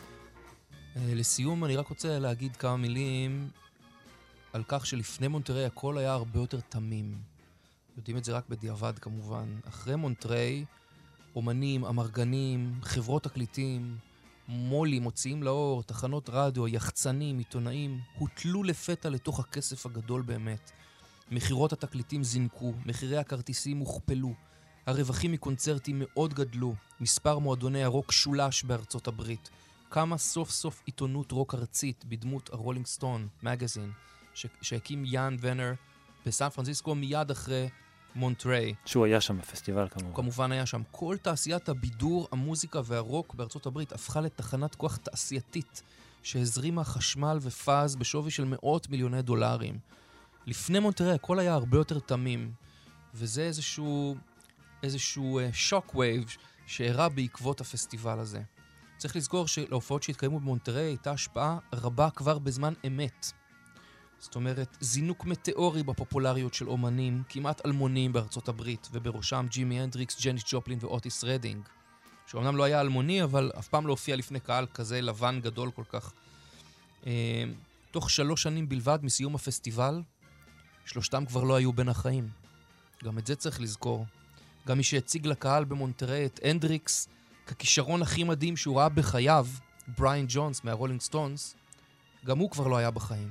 אה, לסיום אני רק רוצה להגיד כמה מילים על כך שלפני מונטריי הכל היה הרבה יותר תמים. יודעים את זה רק בדיעבד כמובן. אחרי מונטריי, אומנים, אמרגנים, חברות תקליטים, מולים, מוציאים לאור, תחנות רדיו, יחצנים, עיתונאים, הוטלו לפתע לתוך הכסף הגדול באמת. מחירות התקליטים זינקו, מחירי הכרטיסים הוכפלו, הרווחים מקונצרטים מאוד גדלו, מספר מועדוני הרוק שולש בארצות הברית, קמה סוף סוף עיתונות רוק ארצית בדמות הרולינג סטון, מגזין, שהקים יאן ונר בסן פרנסיסקו מיד אחרי מונטריי. שהוא היה שם בפסטיבל כמובן. הוא כמובן היה שם. כל תעשיית הבידור, המוזיקה והרוק בארצות הברית הפכה לתחנת כוח תעשייתית שהזרימה חשמל ופאז בשווי של מאות מיליוני דולרים. לפני מונטריי הכל היה הרבה יותר תמים, וזה איזשהו, איזשהו שוק וייב שהראה בעקבות הפסטיבל הזה. צריך לזכור שלהופעות שהתקיימו במונטריי הייתה השפעה רבה כבר בזמן אמת. זאת אומרת, זינוק מטאורי בפופולריות של אומנים, כמעט אלמונים בארצות הברית, ובראשם ג'ימי הנדריקס, ג'ניס ג'ופלין ואוטיס רדינג, שאומנם לא היה אלמוני, אבל אף פעם לא הופיע לפני קהל כזה לבן גדול כל כך. אה, תוך שלוש שנים בלבד מסיום הפסטיבל, שלושתם כבר לא היו בין החיים. גם את זה צריך לזכור. גם מי שהציג לקהל במונטריי את הנדריקס, ככישרון הכי מדהים שהוא ראה בחייו, בריין ג'ונס מהרולינג סטונס, גם הוא כבר לא היה בחיים.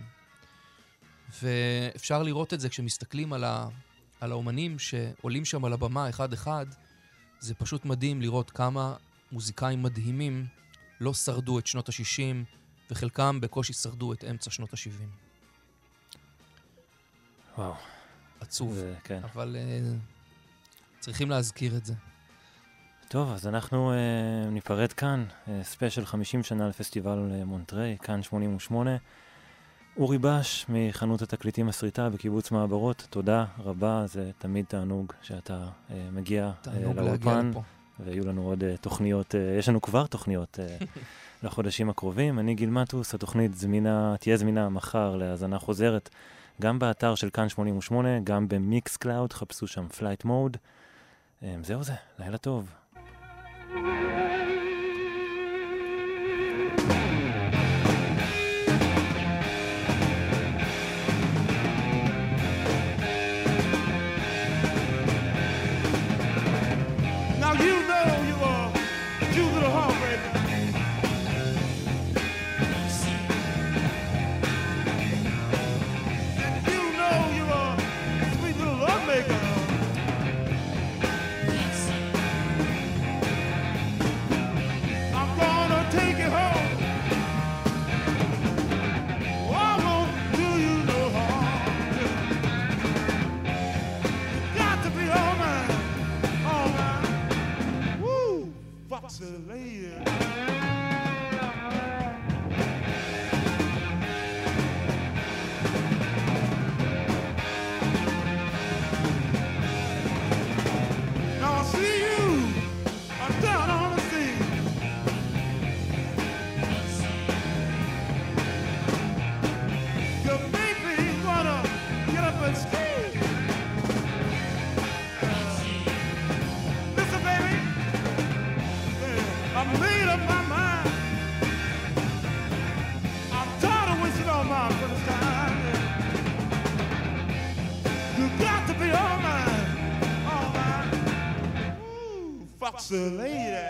ואפשר לראות את זה כשמסתכלים על, ה... על האומנים שעולים שם על הבמה אחד אחד, זה פשוט מדהים לראות כמה מוזיקאים מדהימים לא שרדו את שנות ה-שישים, וחלקם בקושי שרדו את אמצע שנות ה-שבעים. וואו. עצוב. זה, כן. אבל uh, צריכים להזכיר את זה. טוב, אז אנחנו uh, ניפרד כאן, uh, ספיישל חמישים שנה לפסטיבל מונטריי, כאן שמונים ושמונה. אורי בש מחנות התקליטים הסריטה בקיבוץ מעברות, תודה רבה, זה תמיד תענוג שאתה uh, מגיע uh, לאולפן, ויהיו לנו עוד uh, תוכניות, uh, יש לנו כבר תוכניות uh, לחודשים הקרובים. אני גיל מטוס, התוכנית זמינה, תהיה זמינה מחר להאזנה חוזרת, גם באתר של כאן שמונים ושמונה, גם במיקס קלאוד, חפשו שם פלייט מוד. Um, זהו זה, לילה טוב. Now you know you are a cute little heartbreaker. And you know you are a sweet little love maker. I'm gonna take you home. Oh, I won't do you no harm. You got to be all mine, all mine. Woo, foxy lady. Now I see you, I'm down on the sea. You make me wanna get up and ski. Listen, baby, yeah, I made up my mind. I'm tired of wasting all my precious time. You got to be all mine, all mine. Ooh, foxy lady.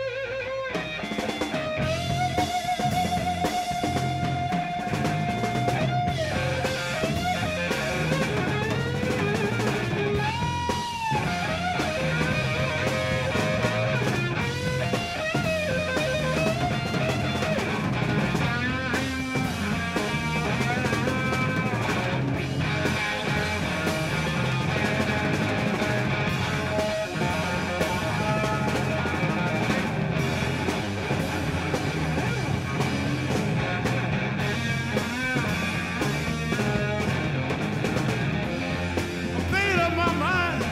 Made up my mind.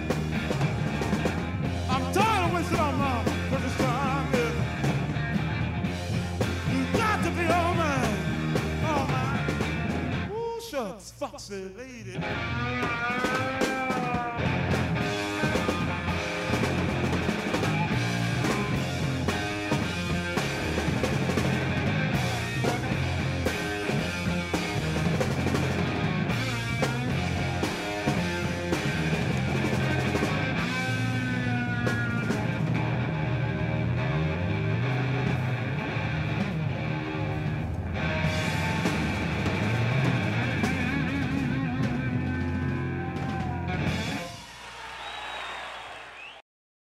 I'm tired of wasting all my precious time. Yeah. You got to be all mine, all mine. Ooh, shucks, foxy lady.